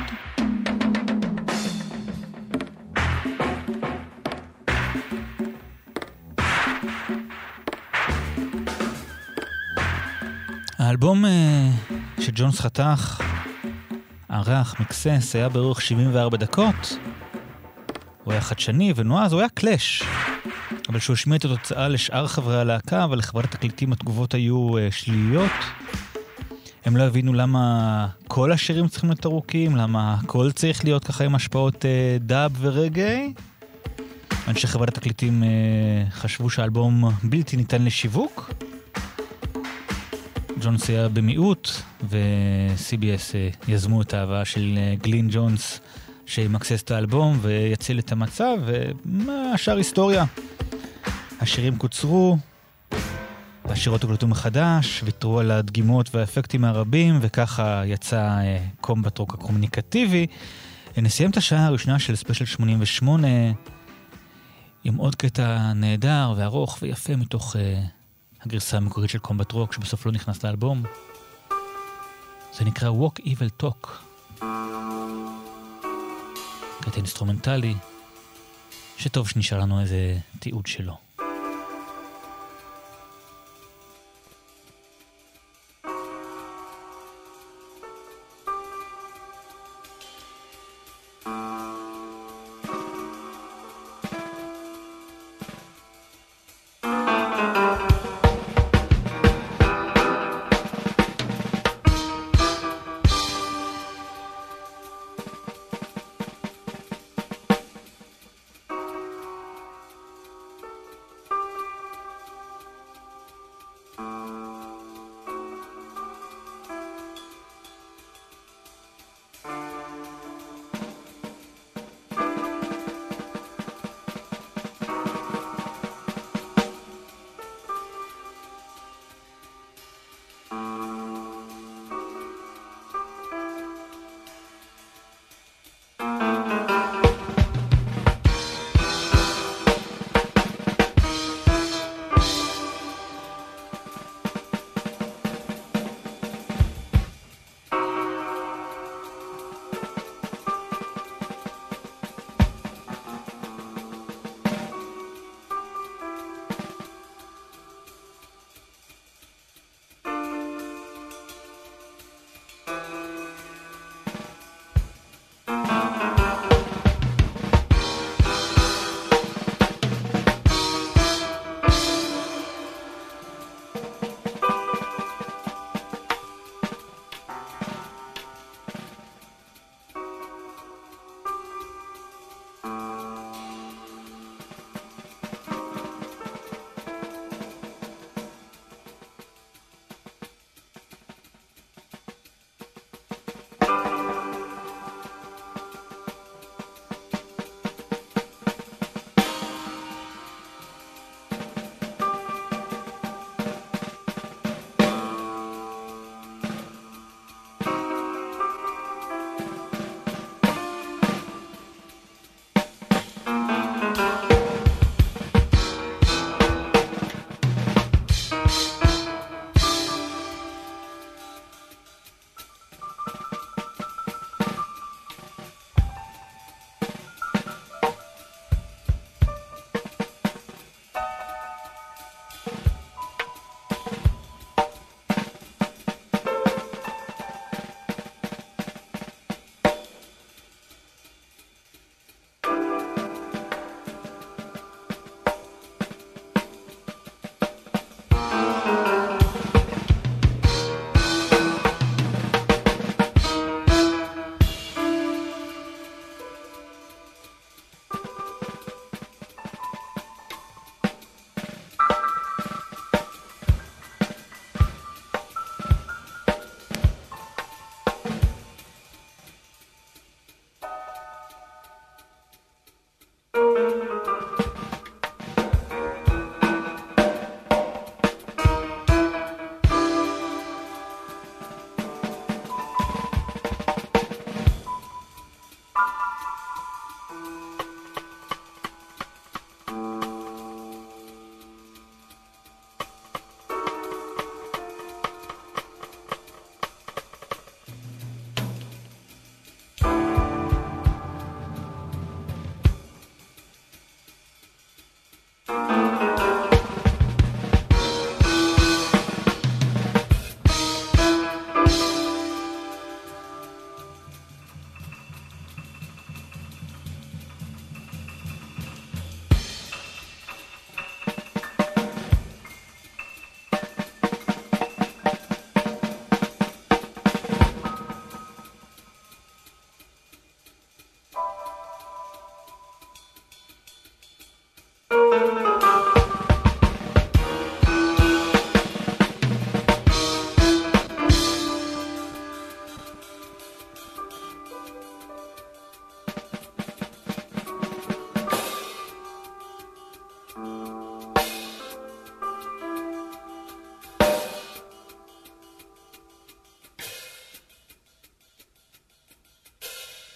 האלבום שג'ונס חתך, ערך, מקסס, היה באורך שבעים וארבע דקות. הוא היה חדשני ונועז, הוא היה קלאש. אבל שהוא השמיע את התוצאה לשאר חברי הלהקה, אבל לחברת התקליטים התגובות היו שליליות. הם לא הבינו למה כל השירים צריכים להיות ארוכים, למה הכל צריך להיות ככה עם השפעות דאב ורגעי. אנשי חברת התקליטים חשבו שהאלבום בלתי ניתן לשיווק. ג'ונס היה במיעוט, ו-סי בי אס יזמו את ההבאה של גלין ג'ונס, שימקסס את האלבום ויציל את המצב, והשאר היסטוריה. השירים קוצרו, והשירות הוקלטו מחדש, ויתרו על הדגימות והאפקטים הרבים, וככה יצא קומבט רוק הקומוניקטיבי. נסיים את השעה הראשונה של ספיישל שמונים ושמונה, עם עוד קטע נהדר וארוך ויפה מתוך uh, הגרסה המקורית של קומבט רוק, שבסוף לא נכנס לאלבום. זה נקרא Walk Evil Talk. קטע אינסטרומנטלי, שטוב שנשאר לנו איזה תיעוד שלו.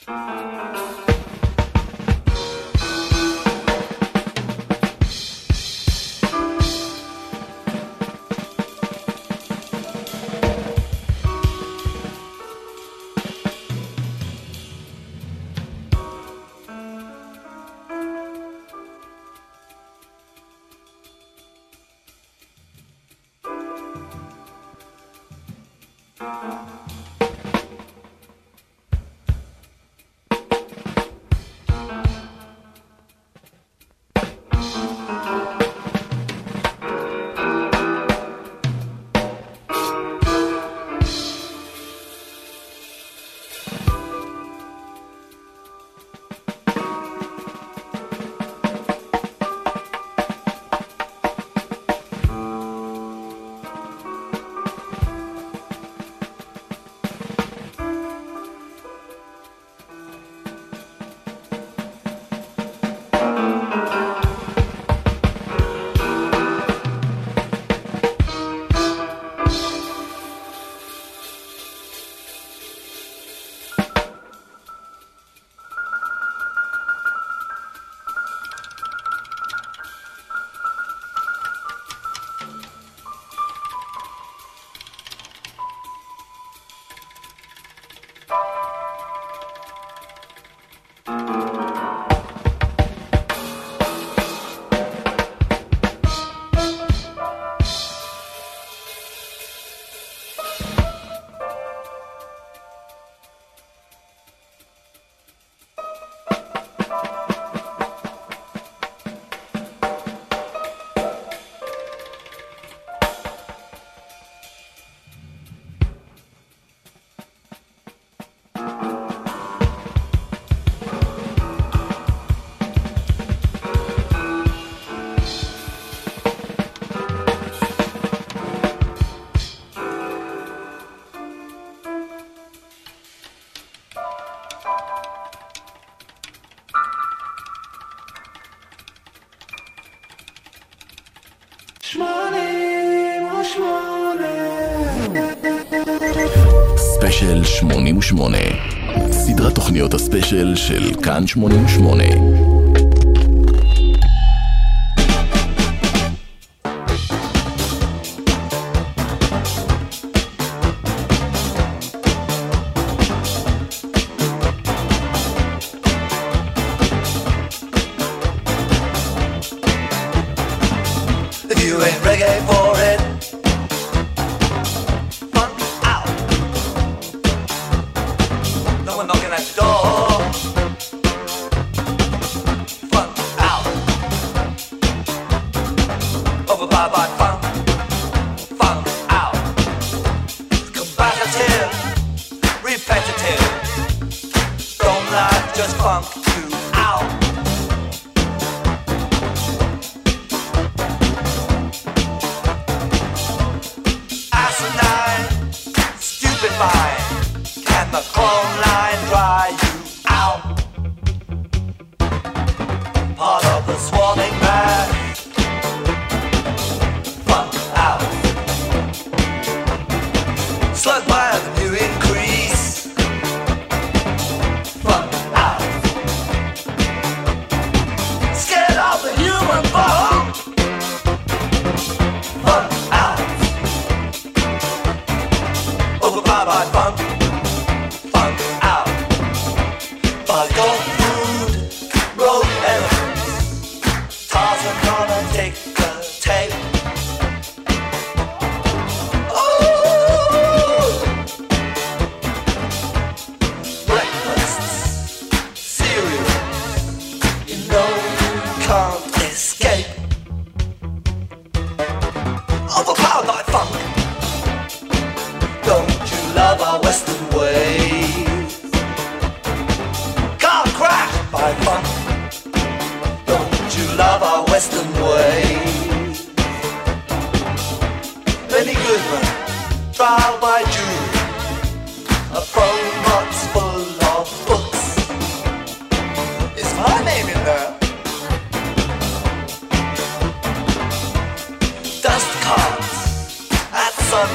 ספיישל שמונים ושמונה, סדרת תוכניות הספיישל של כאן שמונים ושמונה.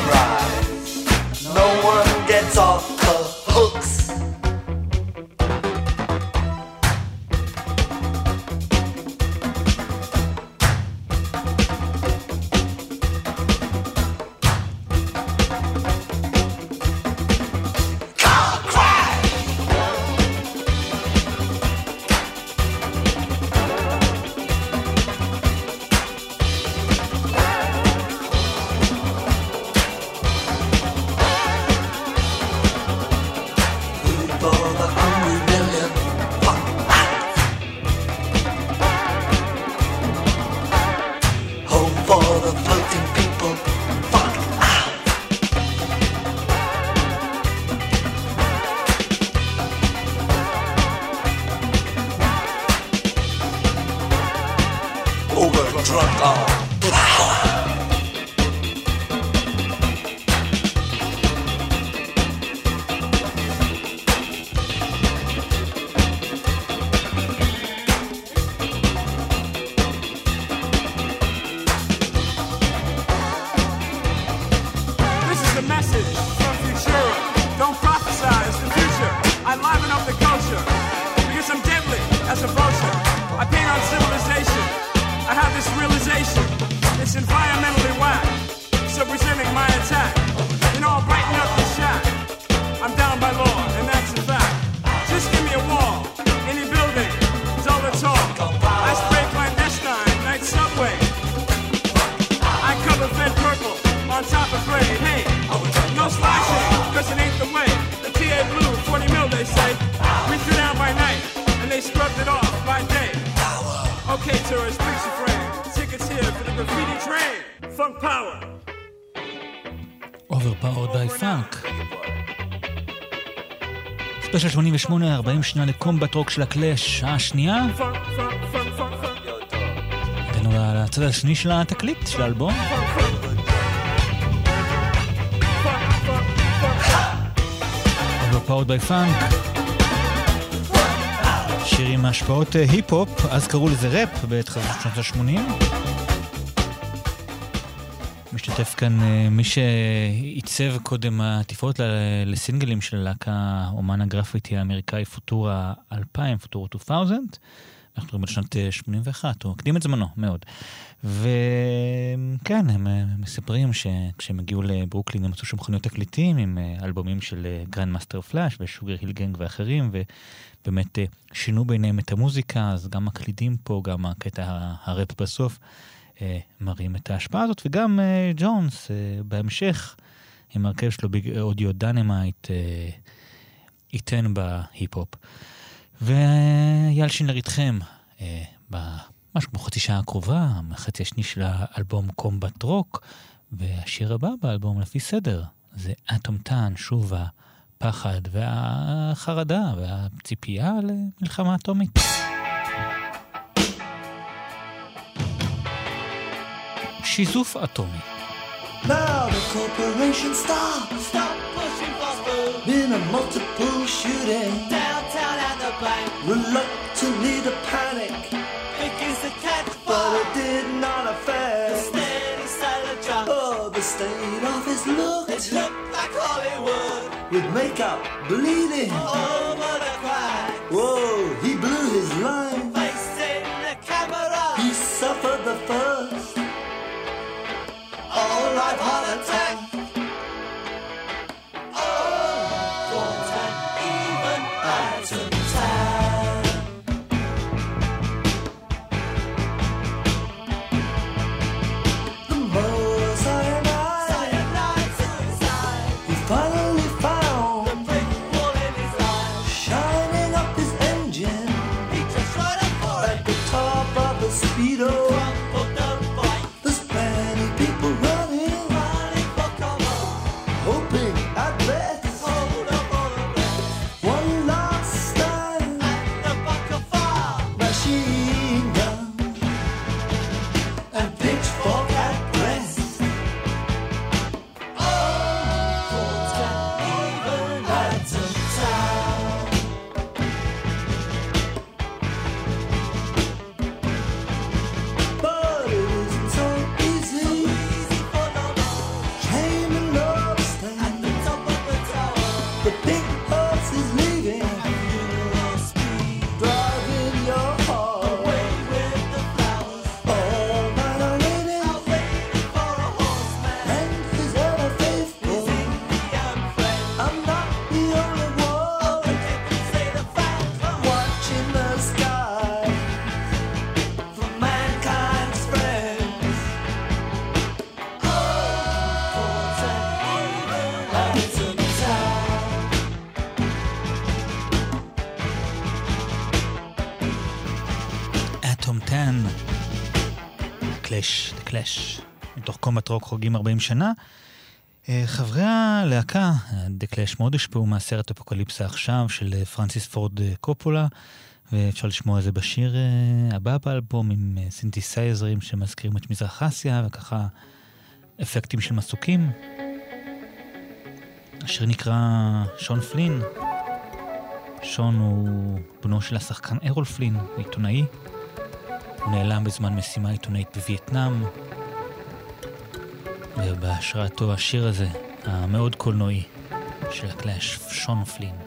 Sunrise, no one gets off the hooks. the hungry million. Fuck out. Home for the floating people. Fuck out. Overdrunk on power. ספיישל שמונים ושמונה, ארבעים שנה לקומבט רוק של הקלאש, שעה שנייה. הגענו לצד השני של התקליט, של האלבום. Overpowered by Funk. שיר עם השפעות היפ-הופ, אז קראו לזה ראפ בתחילת שנות ה-שמונים. משתתף כאן מי שעיצב קודם התפאורות לסינגלים של הלהקה אומן הגרפיטי האמריקאי פוטורה אלפיים, פוטורה אלפיים. אנחנו רואים בשנת שמונים ואחת, הוא הקדים את זמנו מאוד. וכן, הם מספרים שכשהם הגיעו לברוקלין הם מצאו שם מכוניות תקליטים עם אלבומים של גרנד מאסטר פלאש ושוגר היל גנג ואחרים, ובאמת שינו ביניהם את המוזיקה, אז גם מקלידים פה, גם הקטע הראפ בסוף, מראים את ההשפעה הזאת, וגם ג'ונס בהמשך עם הרכב שלו באודיו דינמייט ייתן בהיפ-הופ. ויאל שינלר איתכם במשהו כמו חצי שעה הקרובה, מחצי השני של האלבום קומבט רוק, והשיר הבא באלבום לפי סדר זה אטום טאן, שוב הפחד והחרדה והציפייה למלחמה אטומית. שיזוף אטומי. Now the corporation stop, stop pushing fast food. Been a multiple shooting downtown at the bank. Reluctantly to panic, begins to catch fire, but it did not affect the steady silent jump. Oh, the state of his look, it looked like Hollywood, with makeup bleeding over the crack. Whoa, he blew his line, facing the camera. He suffered the first all life heart attack. Oh, thoughts and even atom tag. The more cyanide, cyanide suicide. He finally found the brick wall in his life, shining up his engine. He just right up for it at the top of the speedo. The big horse is leaving. Man. קלאש, The Clash. מתוך קומבט רוק חוגגים ארבעים שנה. חברי הלהקה, The Clash, מאוד השפעו מהסרט אפוקליפסה עכשיו של פרנסיס פורד קופולה, ואפשר לשמוע את זה בשיר הבא באלבום עם סינתסייזרים שמזכירים את מזרח אסיה וככה אפקטים של מסוקים. השיר נקרא שון פלין. שון הוא בנו של השחקן ארול פלין, עיתונאי. הוא נעלם בזמן משימה עיתונאית בווייטנאם, ובהשראתו השיר הזה, המאוד קולנועי של הקלאש, שון פלין.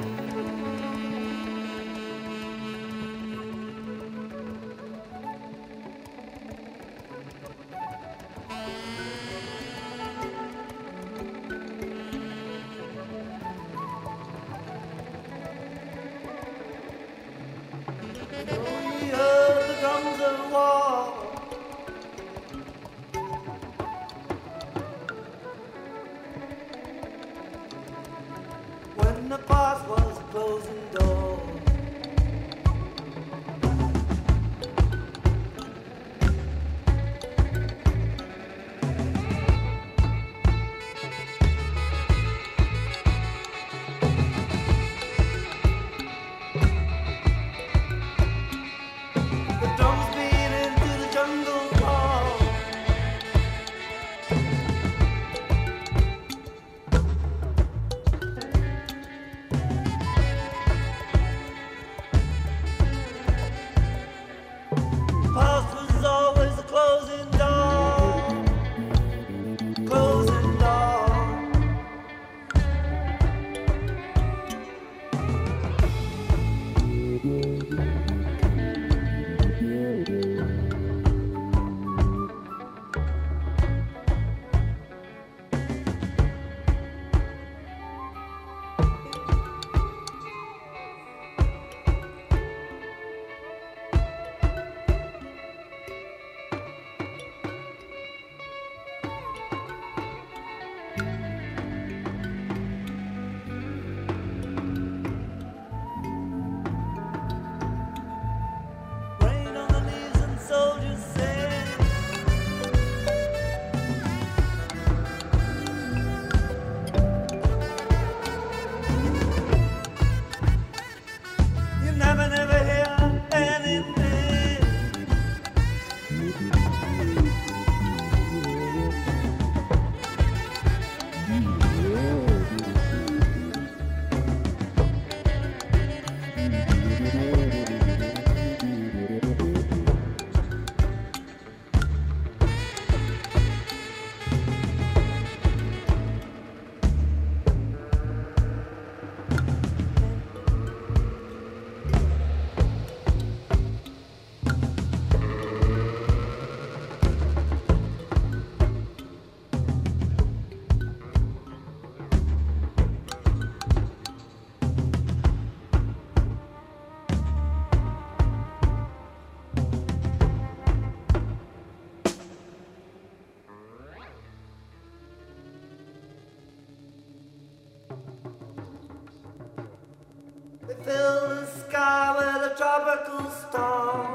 Fill the sky with a tropical storm.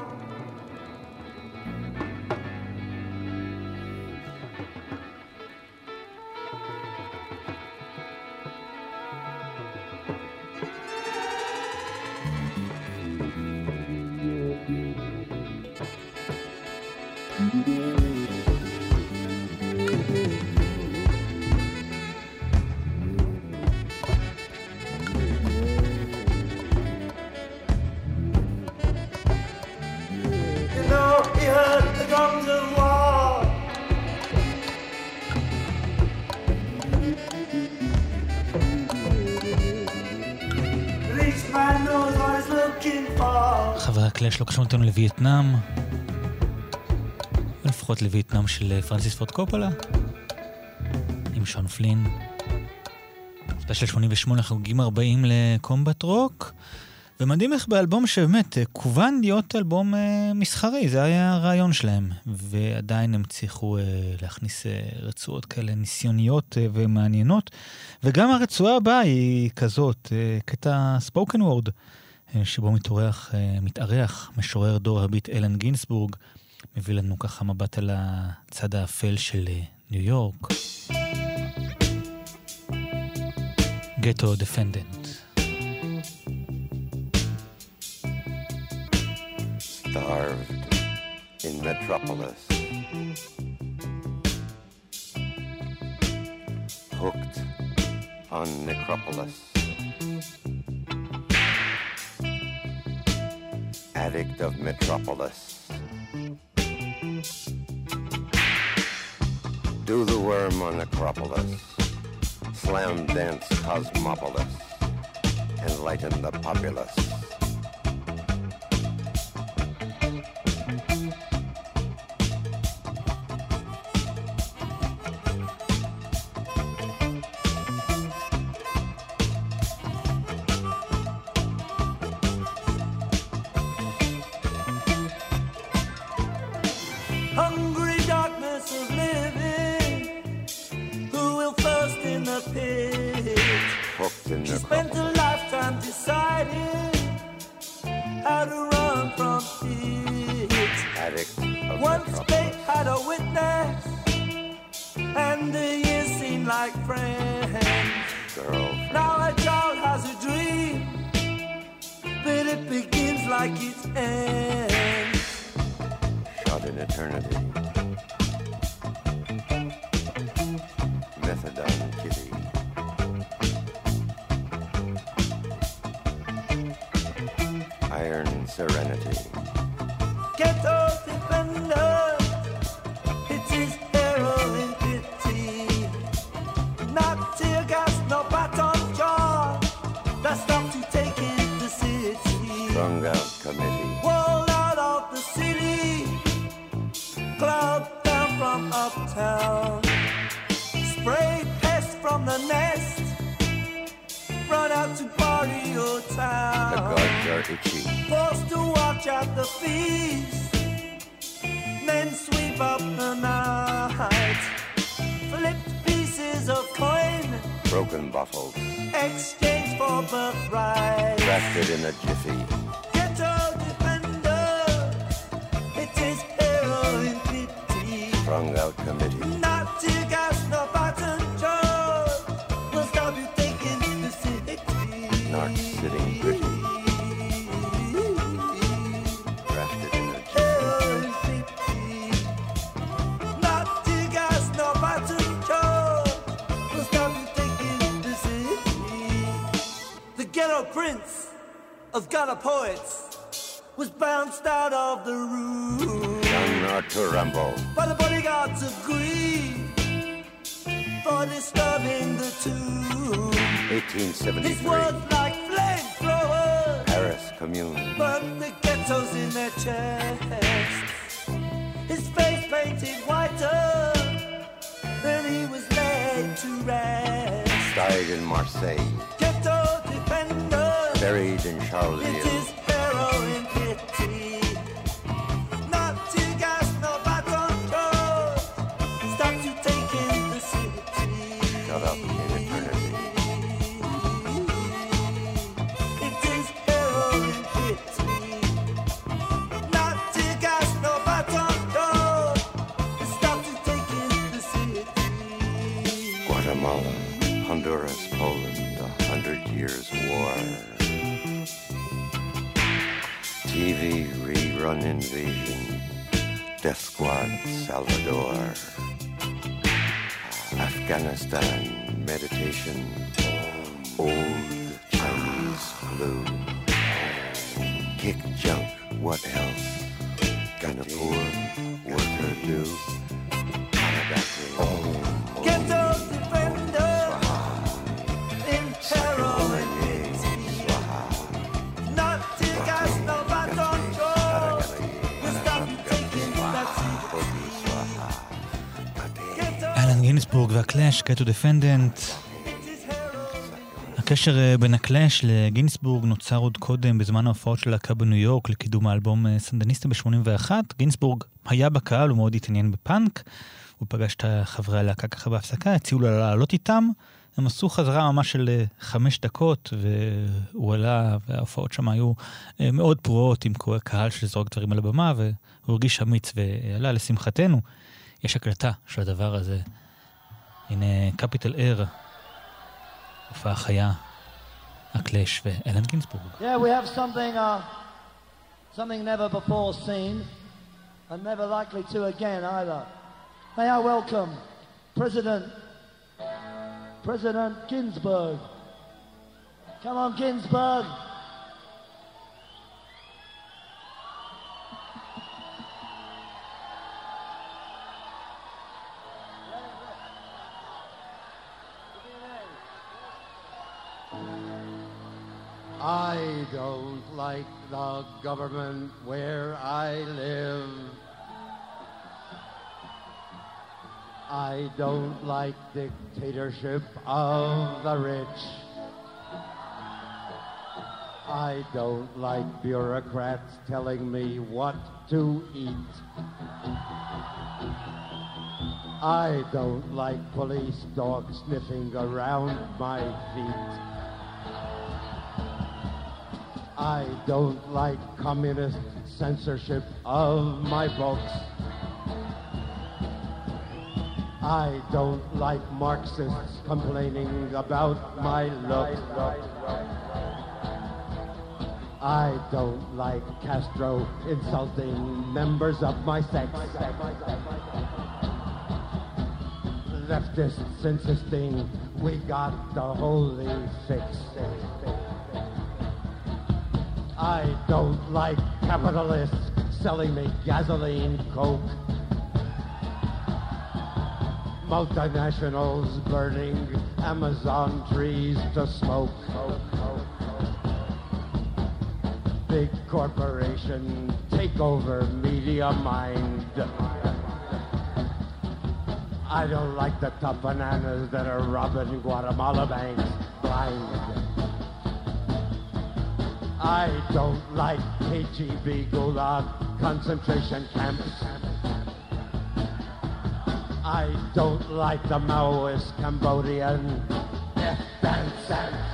חברי הקלאש לוקחים אותנו לווייטנאם, לפחות לווייטנאם של פרנסיס פורד קופולה עם שון פלין. ספיישל שמונים ושמונה חוגגים ארבעים לקומבט רוק, ומדהים איך באלבום שבאמת כוון להיות אלבום מסחרי, זה היה הרעיון שלהם, ועדיין הם צריכו להכניס רצועות כאלה ניסיוניות ומעניינות, וגם הרצועה הבאה היא כזאת, קטע ספוקן וורד שבו מתארח, מתארח משורר דור הביט אלן גינסבורג, מביא לנו ככה מבט על הצד האפל של ניו יורק. גטו דפנדנט. Starved in Metropolis, hooked on Necropolis, addict of Metropolis, do the worm on Necropolis, slam dance Cosmopolis, enlighten the populace. Hungry darkness of living, who will first in the pit? Hooked in She spent a lifetime deciding how to run from it. Addict of Once fate had a witness, and the years seem like friends. Girlfriend. Now a child has a dream, but it begins like it ends. Shot in eternity. Methadone kitty. Iron serenity. Ghetto defender, it is heroin pity. Not tear gas, no baton jaw, that stops you taking the city. Strung out committee. Walled out of the city, club down from uptown. Spray pest from the nest, run out to party or town. The gods are itchy. Forced to watch out the feast, then sweep up the night. Flipped pieces of coin, Broken bottles. exchange for birthright. Drafted in a jiffy. Ghetto defender, it is heroin pity. Strung out committee. Not tear gas, no button jaws, will stop you taking the city. Not sitting pretty. Drafted in a jiffy. Heroin pity. Not tear gas, no button jaws, will stop you taking the city. The ghetto prince of gutter poets was bounced out of the room. John Arthur Rambo. But the bodyguards agree for disturbing the tomb. eighteen His seventy-three. words like flamethrowers Paris Commune. burn the ghettos in their chests. His face painted whiter than he was laid to rest. Died in Marseille. Ghetto defender, Buried in it Charleville. is heroin pity. Not tear gas, no baton jaws, stops you taking the city. Shut up in eternity. It is heroin pity. Not tear gas, no baton jaws, stops you taking the city. Guatemala, Honduras, Poland, a hundred years war. T V rerun invasion, Death Squad, Salvador. Afghanistan, meditation, old Chinese flu. Kick junk, what else can a poor worker do? Ghetto defender, in heroin pity. Not tear gas, no baton jaws, will stop you taking that city. Ghetto אלן גינסבורג והקלאש, גטו דפנדנט. הקשר בין הקלאש לגינסבורג נוצר עוד קודם בזמן ההופעות של להקה בניו יורק לקידום האלבום סנדניסטה ב-שמונים ואחת. גינסבורג היה בקהל, הוא מאוד התעניין בפאנק, הוא פגש את חברי הלהקה ככה בהפסקה, הציעו לה לעלות איתם, הם עשו חזרה ממש של אה, חמש דקות, והוא עלה, וההופעות שם היו אה, מאוד פרועות, עם קהל שזרוק דברים על הבמה, והוא הרגיש אמיץ ועלה לשמחתנו. יש הקלטה של הדבר הזה. הנה קפיטל אר, הופעה חיה, הקלאש ואלן גינסבורג. Yeah, we have something, uh, something never before seen, and never likely to again either. May I welcome President, President Ginsburg. Come on, Ginsburg. I don't like the government where I live. I don't like dictatorship of the rich. I don't like bureaucrats telling me what to eat. I don't like police dogs sniffing around my feet. I don't like communist censorship of my books. I don't like Marxists complaining about my looks. I don't like Castro insulting members of my sex. Leftists insisting we got the holy fix. I don't like capitalists selling me gasoline, coke. Multinationals burning Amazon trees to smoke. Big corporation take over media mind. I don't like the top bananas that are robbing Guatemala banks blind. I don't like K G B Gulag concentration camps. I don't like the Maoist Cambodian death dance.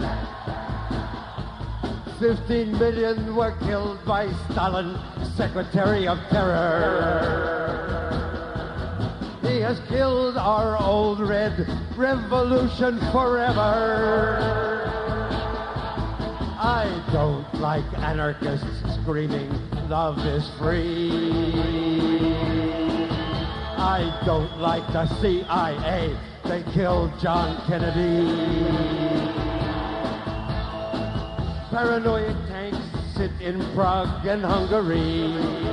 Fifteen million were killed by Stalin, Secretary of Terror. He has killed our old red revolution forever. I don't like anarchists screaming, love is free. I don't like the C I A, they killed John Kennedy. Paranoid tanks sit in Prague and Hungary.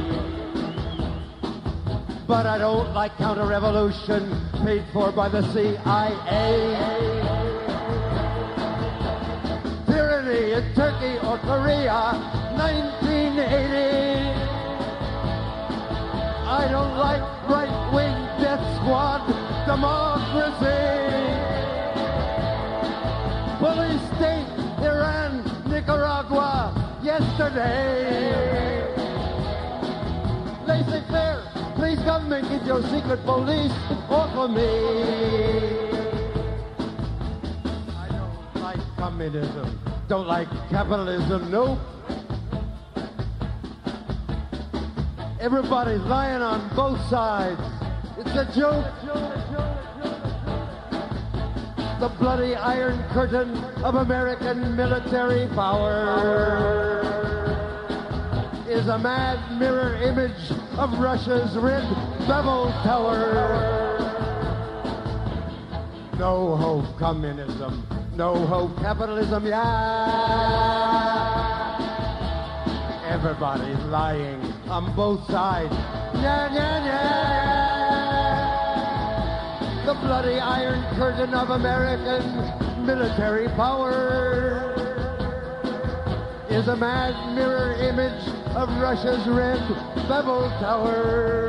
But I don't like counter-revolution paid for by the C I A. Tyranny in Turkey or Korea, nineteen eighty. I don't like right-wing death squad democracy. Police state, Iran, Nicaragua, yesterday. Laissez-faire, please government, get your secret police off of me. I don't like communism, don't like capitalism, nope. Everybody's lying on both sides. It's a joke. The bloody iron curtain of American military power is a mad mirror image of Russia's red Babel Tower. No hope communism, no hope capitalism, yeah. Everybody's lying on both sides. Yeah, yeah, yeah. The bloody iron curtain of American military power is a mad mirror image of Russia's red Babel Tower.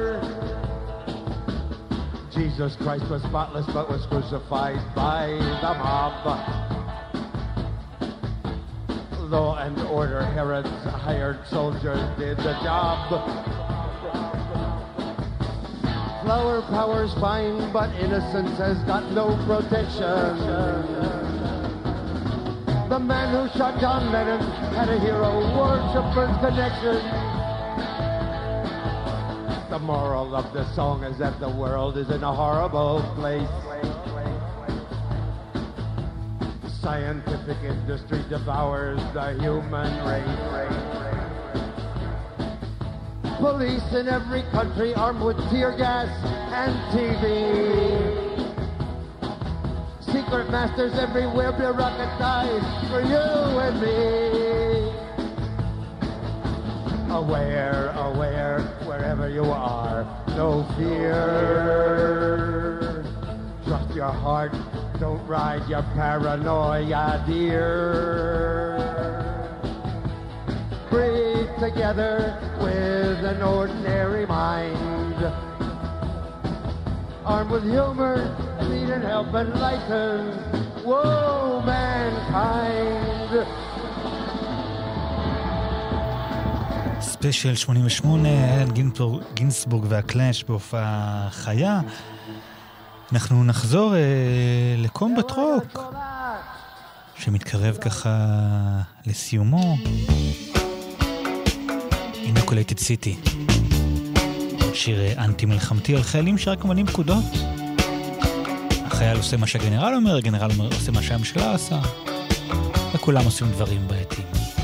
Jesus Christ was spotless but was crucified by the mob. Law and order, Herod's hired soldiers did the job. flower power's fine, but innocence has got no protection. The man who shot John Lennon had a hero worshipper's connection. The moral of the song is that the world is in a horrible place. Scientific industry devours the human race. Police in every country armed with tear gas and T V. Secret masters everywhere bureaucratized for you and me. Aware, aware, wherever you are, no fear. Trust your heart, don't ride your paranoia, dear. Breathe together with an ordinary mind. Armed with humor, lead and help enlighten, whoa, mankind. ספיישל שמונים ושמונה, אלן גינסבורג והקלאש בהופעה חיה. אנחנו נחזור אה, לקומבט רוק, שמתקרב ככה לסיומו. אינוקולייטד סיטי, שיר אנטי מלחמתי על חיילים שרק ממלאים פקודות. החייל עושה מה שהגנרל אומר, הגנרל אומר, עושה מה שהממשלה עושה, וכולם עושים דברים בעייתיים.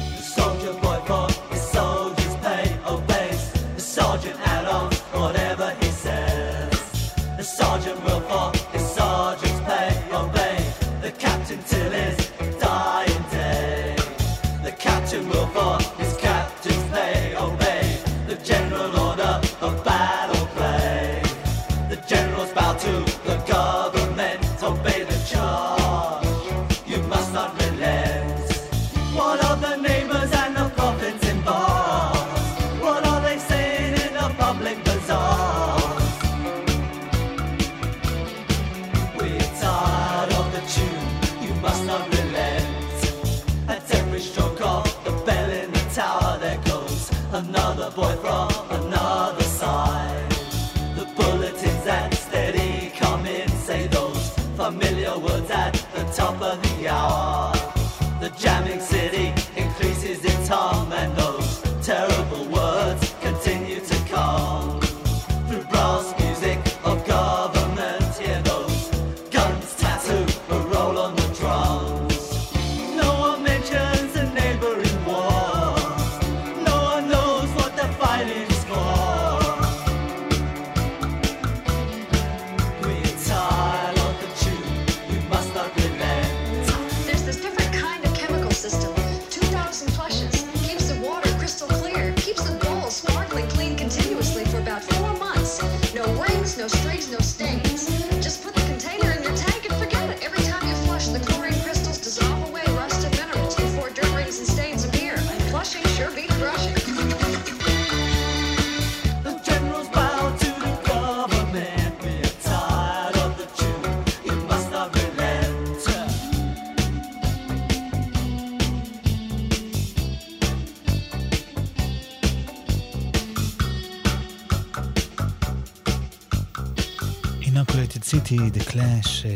The Clash,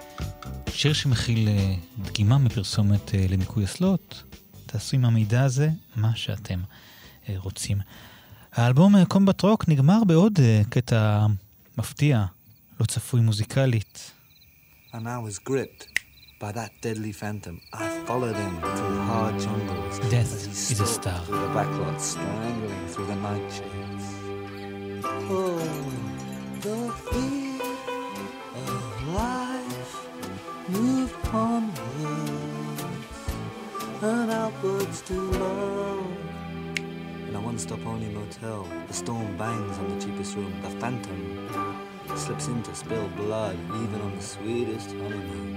שיר שמכיל דגימה מפרסומת לניקוי אסלות. תעשו עם המידע הזה מה שאתם רוצים. האלבום קומבט רוק נגמר בעוד קטע מפתיע, לא צפוי מוזיקלית. And I was gripped by that deadly phantom. I followed him through the hard jungles. Death is a star. Through the backlots, strangling through the nightshades. Oh, the fear of life moved onwards and outwards to love. In a one-stop only motel, the storm bangs on the cheapest room. The phantom slips in to spill blood, even on the sweetest honeymoon.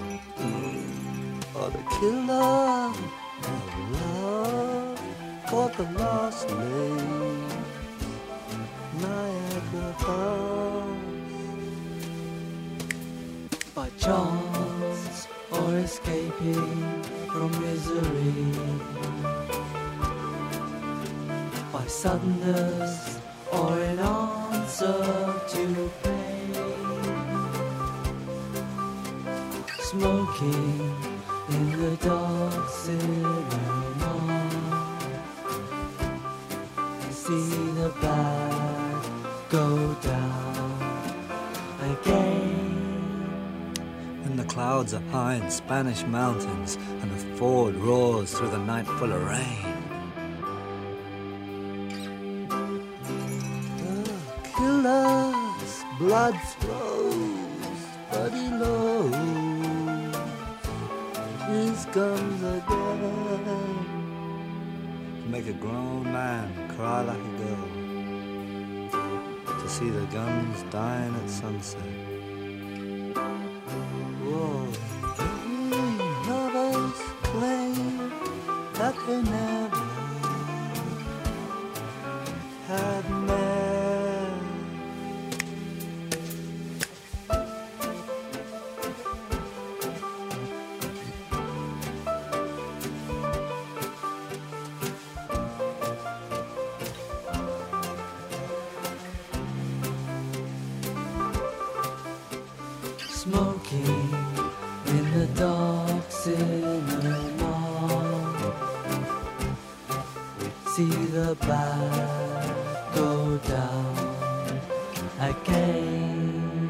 Oh, the killer of love caught the lost lake, Niagara Falls. By chance or escaping from misery, by suddenness or in answer to to pay. Smoking in the dark cinema, see the bad go down again. And the clouds are high in Spanish mountains, and the Ford roars through the night full of rain. The killer's blood flows, but he lows his guns again. To make a grown man cry like a girl, to see the guns dying at sunset. Whoa, lovers claim that they never had met. Smoking in the dark cinema, see the bad go down again.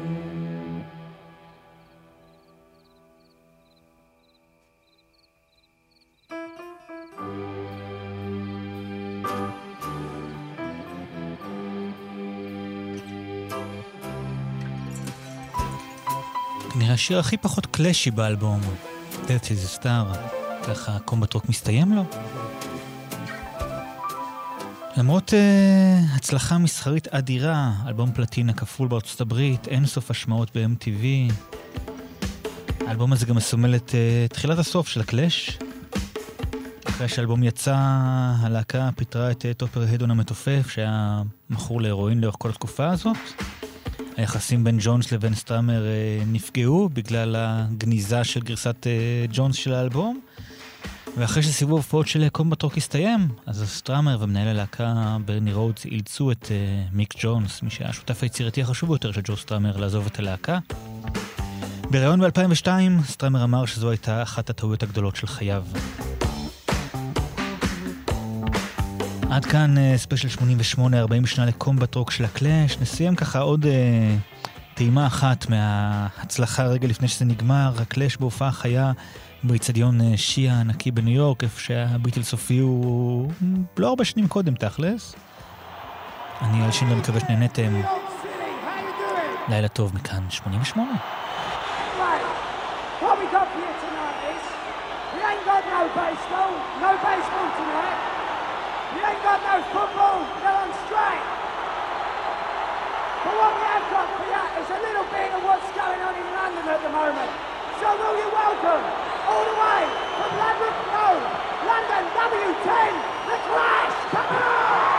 נראה השיר הכי פחות קלאשי באלבום, Death is a Star, ככה קומבט רוק מסתיים לו. למרות uh, הצלחה מסחרית אדירה, אלבום פלטינה כפול בארצות הברית, אין סוף השמעות ב-אם טי וי. האלבום הזה גם מסומל את uh, תחילת הסוף של הקלאש. אחרי שהאלבום יצא, הלהקה פיתרה את uh, טופר הדון המתופף, שהיה מכור להירואין לאורך כל התקופה הזאת. היחסים בין ג'ונס לבין סטראמר uh, נפגעו בגלל הגניזה של גרסת uh, ג'ונס של האלבום. ואחרי שסיבוב הופעות של קומבט רוק הסתיים, אז סטראמר ומנהל הלהקה ברני רודס אילצו את uh, מיק ג'ונס, מי שהיה השותף היצירתי החשוב ביותר של ג'ו סטראמר, לעזוב את הלהקה. בראיון ב-אלפיים ושתיים, סטראמר אמר שזו הייתה אחת הטעויות הגדולות של חייו. עד כאן uh, ספיישל שמונים ושמונה, ארבעים שנה לקומבט רוק של הקלאש. נסיים ככה עוד uh, טעימה אחת מההצלחה רגע לפני שזה נגמר. הקלאש בהופעה חיה באיצטדיון שיעה הענקי בניו יורק, איפה שהביטלס הופיעו לא הרבה שנים קודם תכלס. אני על שינדו מקווה שנהנתם. לילה טוב מכאן שמונים ושמונה. What we got here tonight is, we ain't got no baseball, no baseball tonight. We ain't got no football, they're on strike. But what we have got for you is a little bit of what's going on in London at the moment. So will you welcome, all the way from London, no, London W ten, The Clash, come on!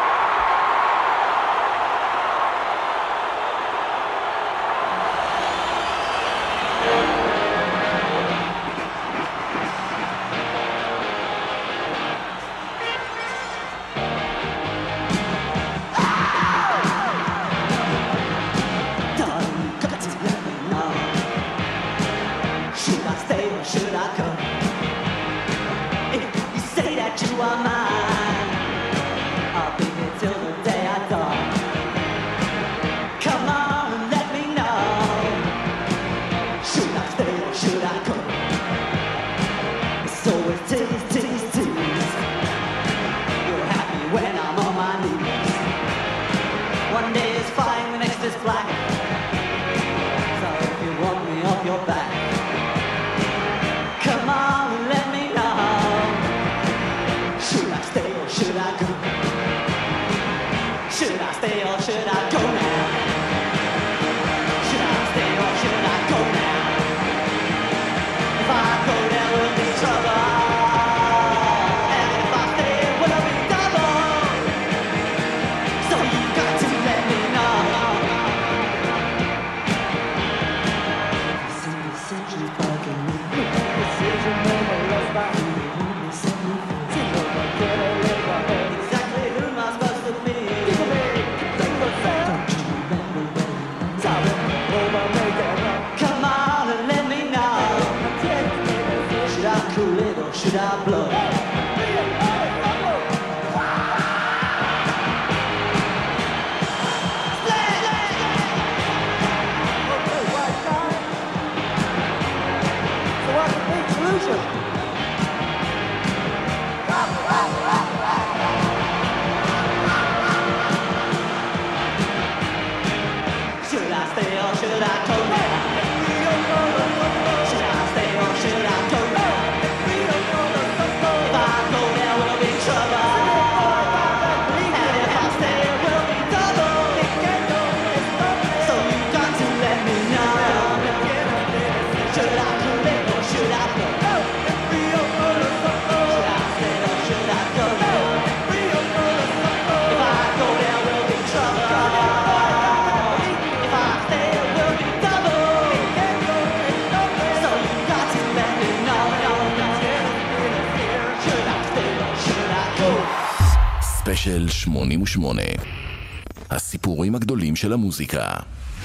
Should I come? If you say that you are mine, I'll be here till the day I die. Come on and let me know. Should I stay or should I go? So it's tease, tease, tease. You're happy when I'm on my knees. One day is fine, the next is black. So if you want me off your back, come on and let me know. Should I stay or should I go? Should I stay or should I go now? Should I stay or should I go now? If I go there will be trouble, and if I stay it will be double. So you got to let me know. See the century bugging me. Exactly ספיישל שמונים ושמונה, הסיפורים הגדולים של המוזיקה.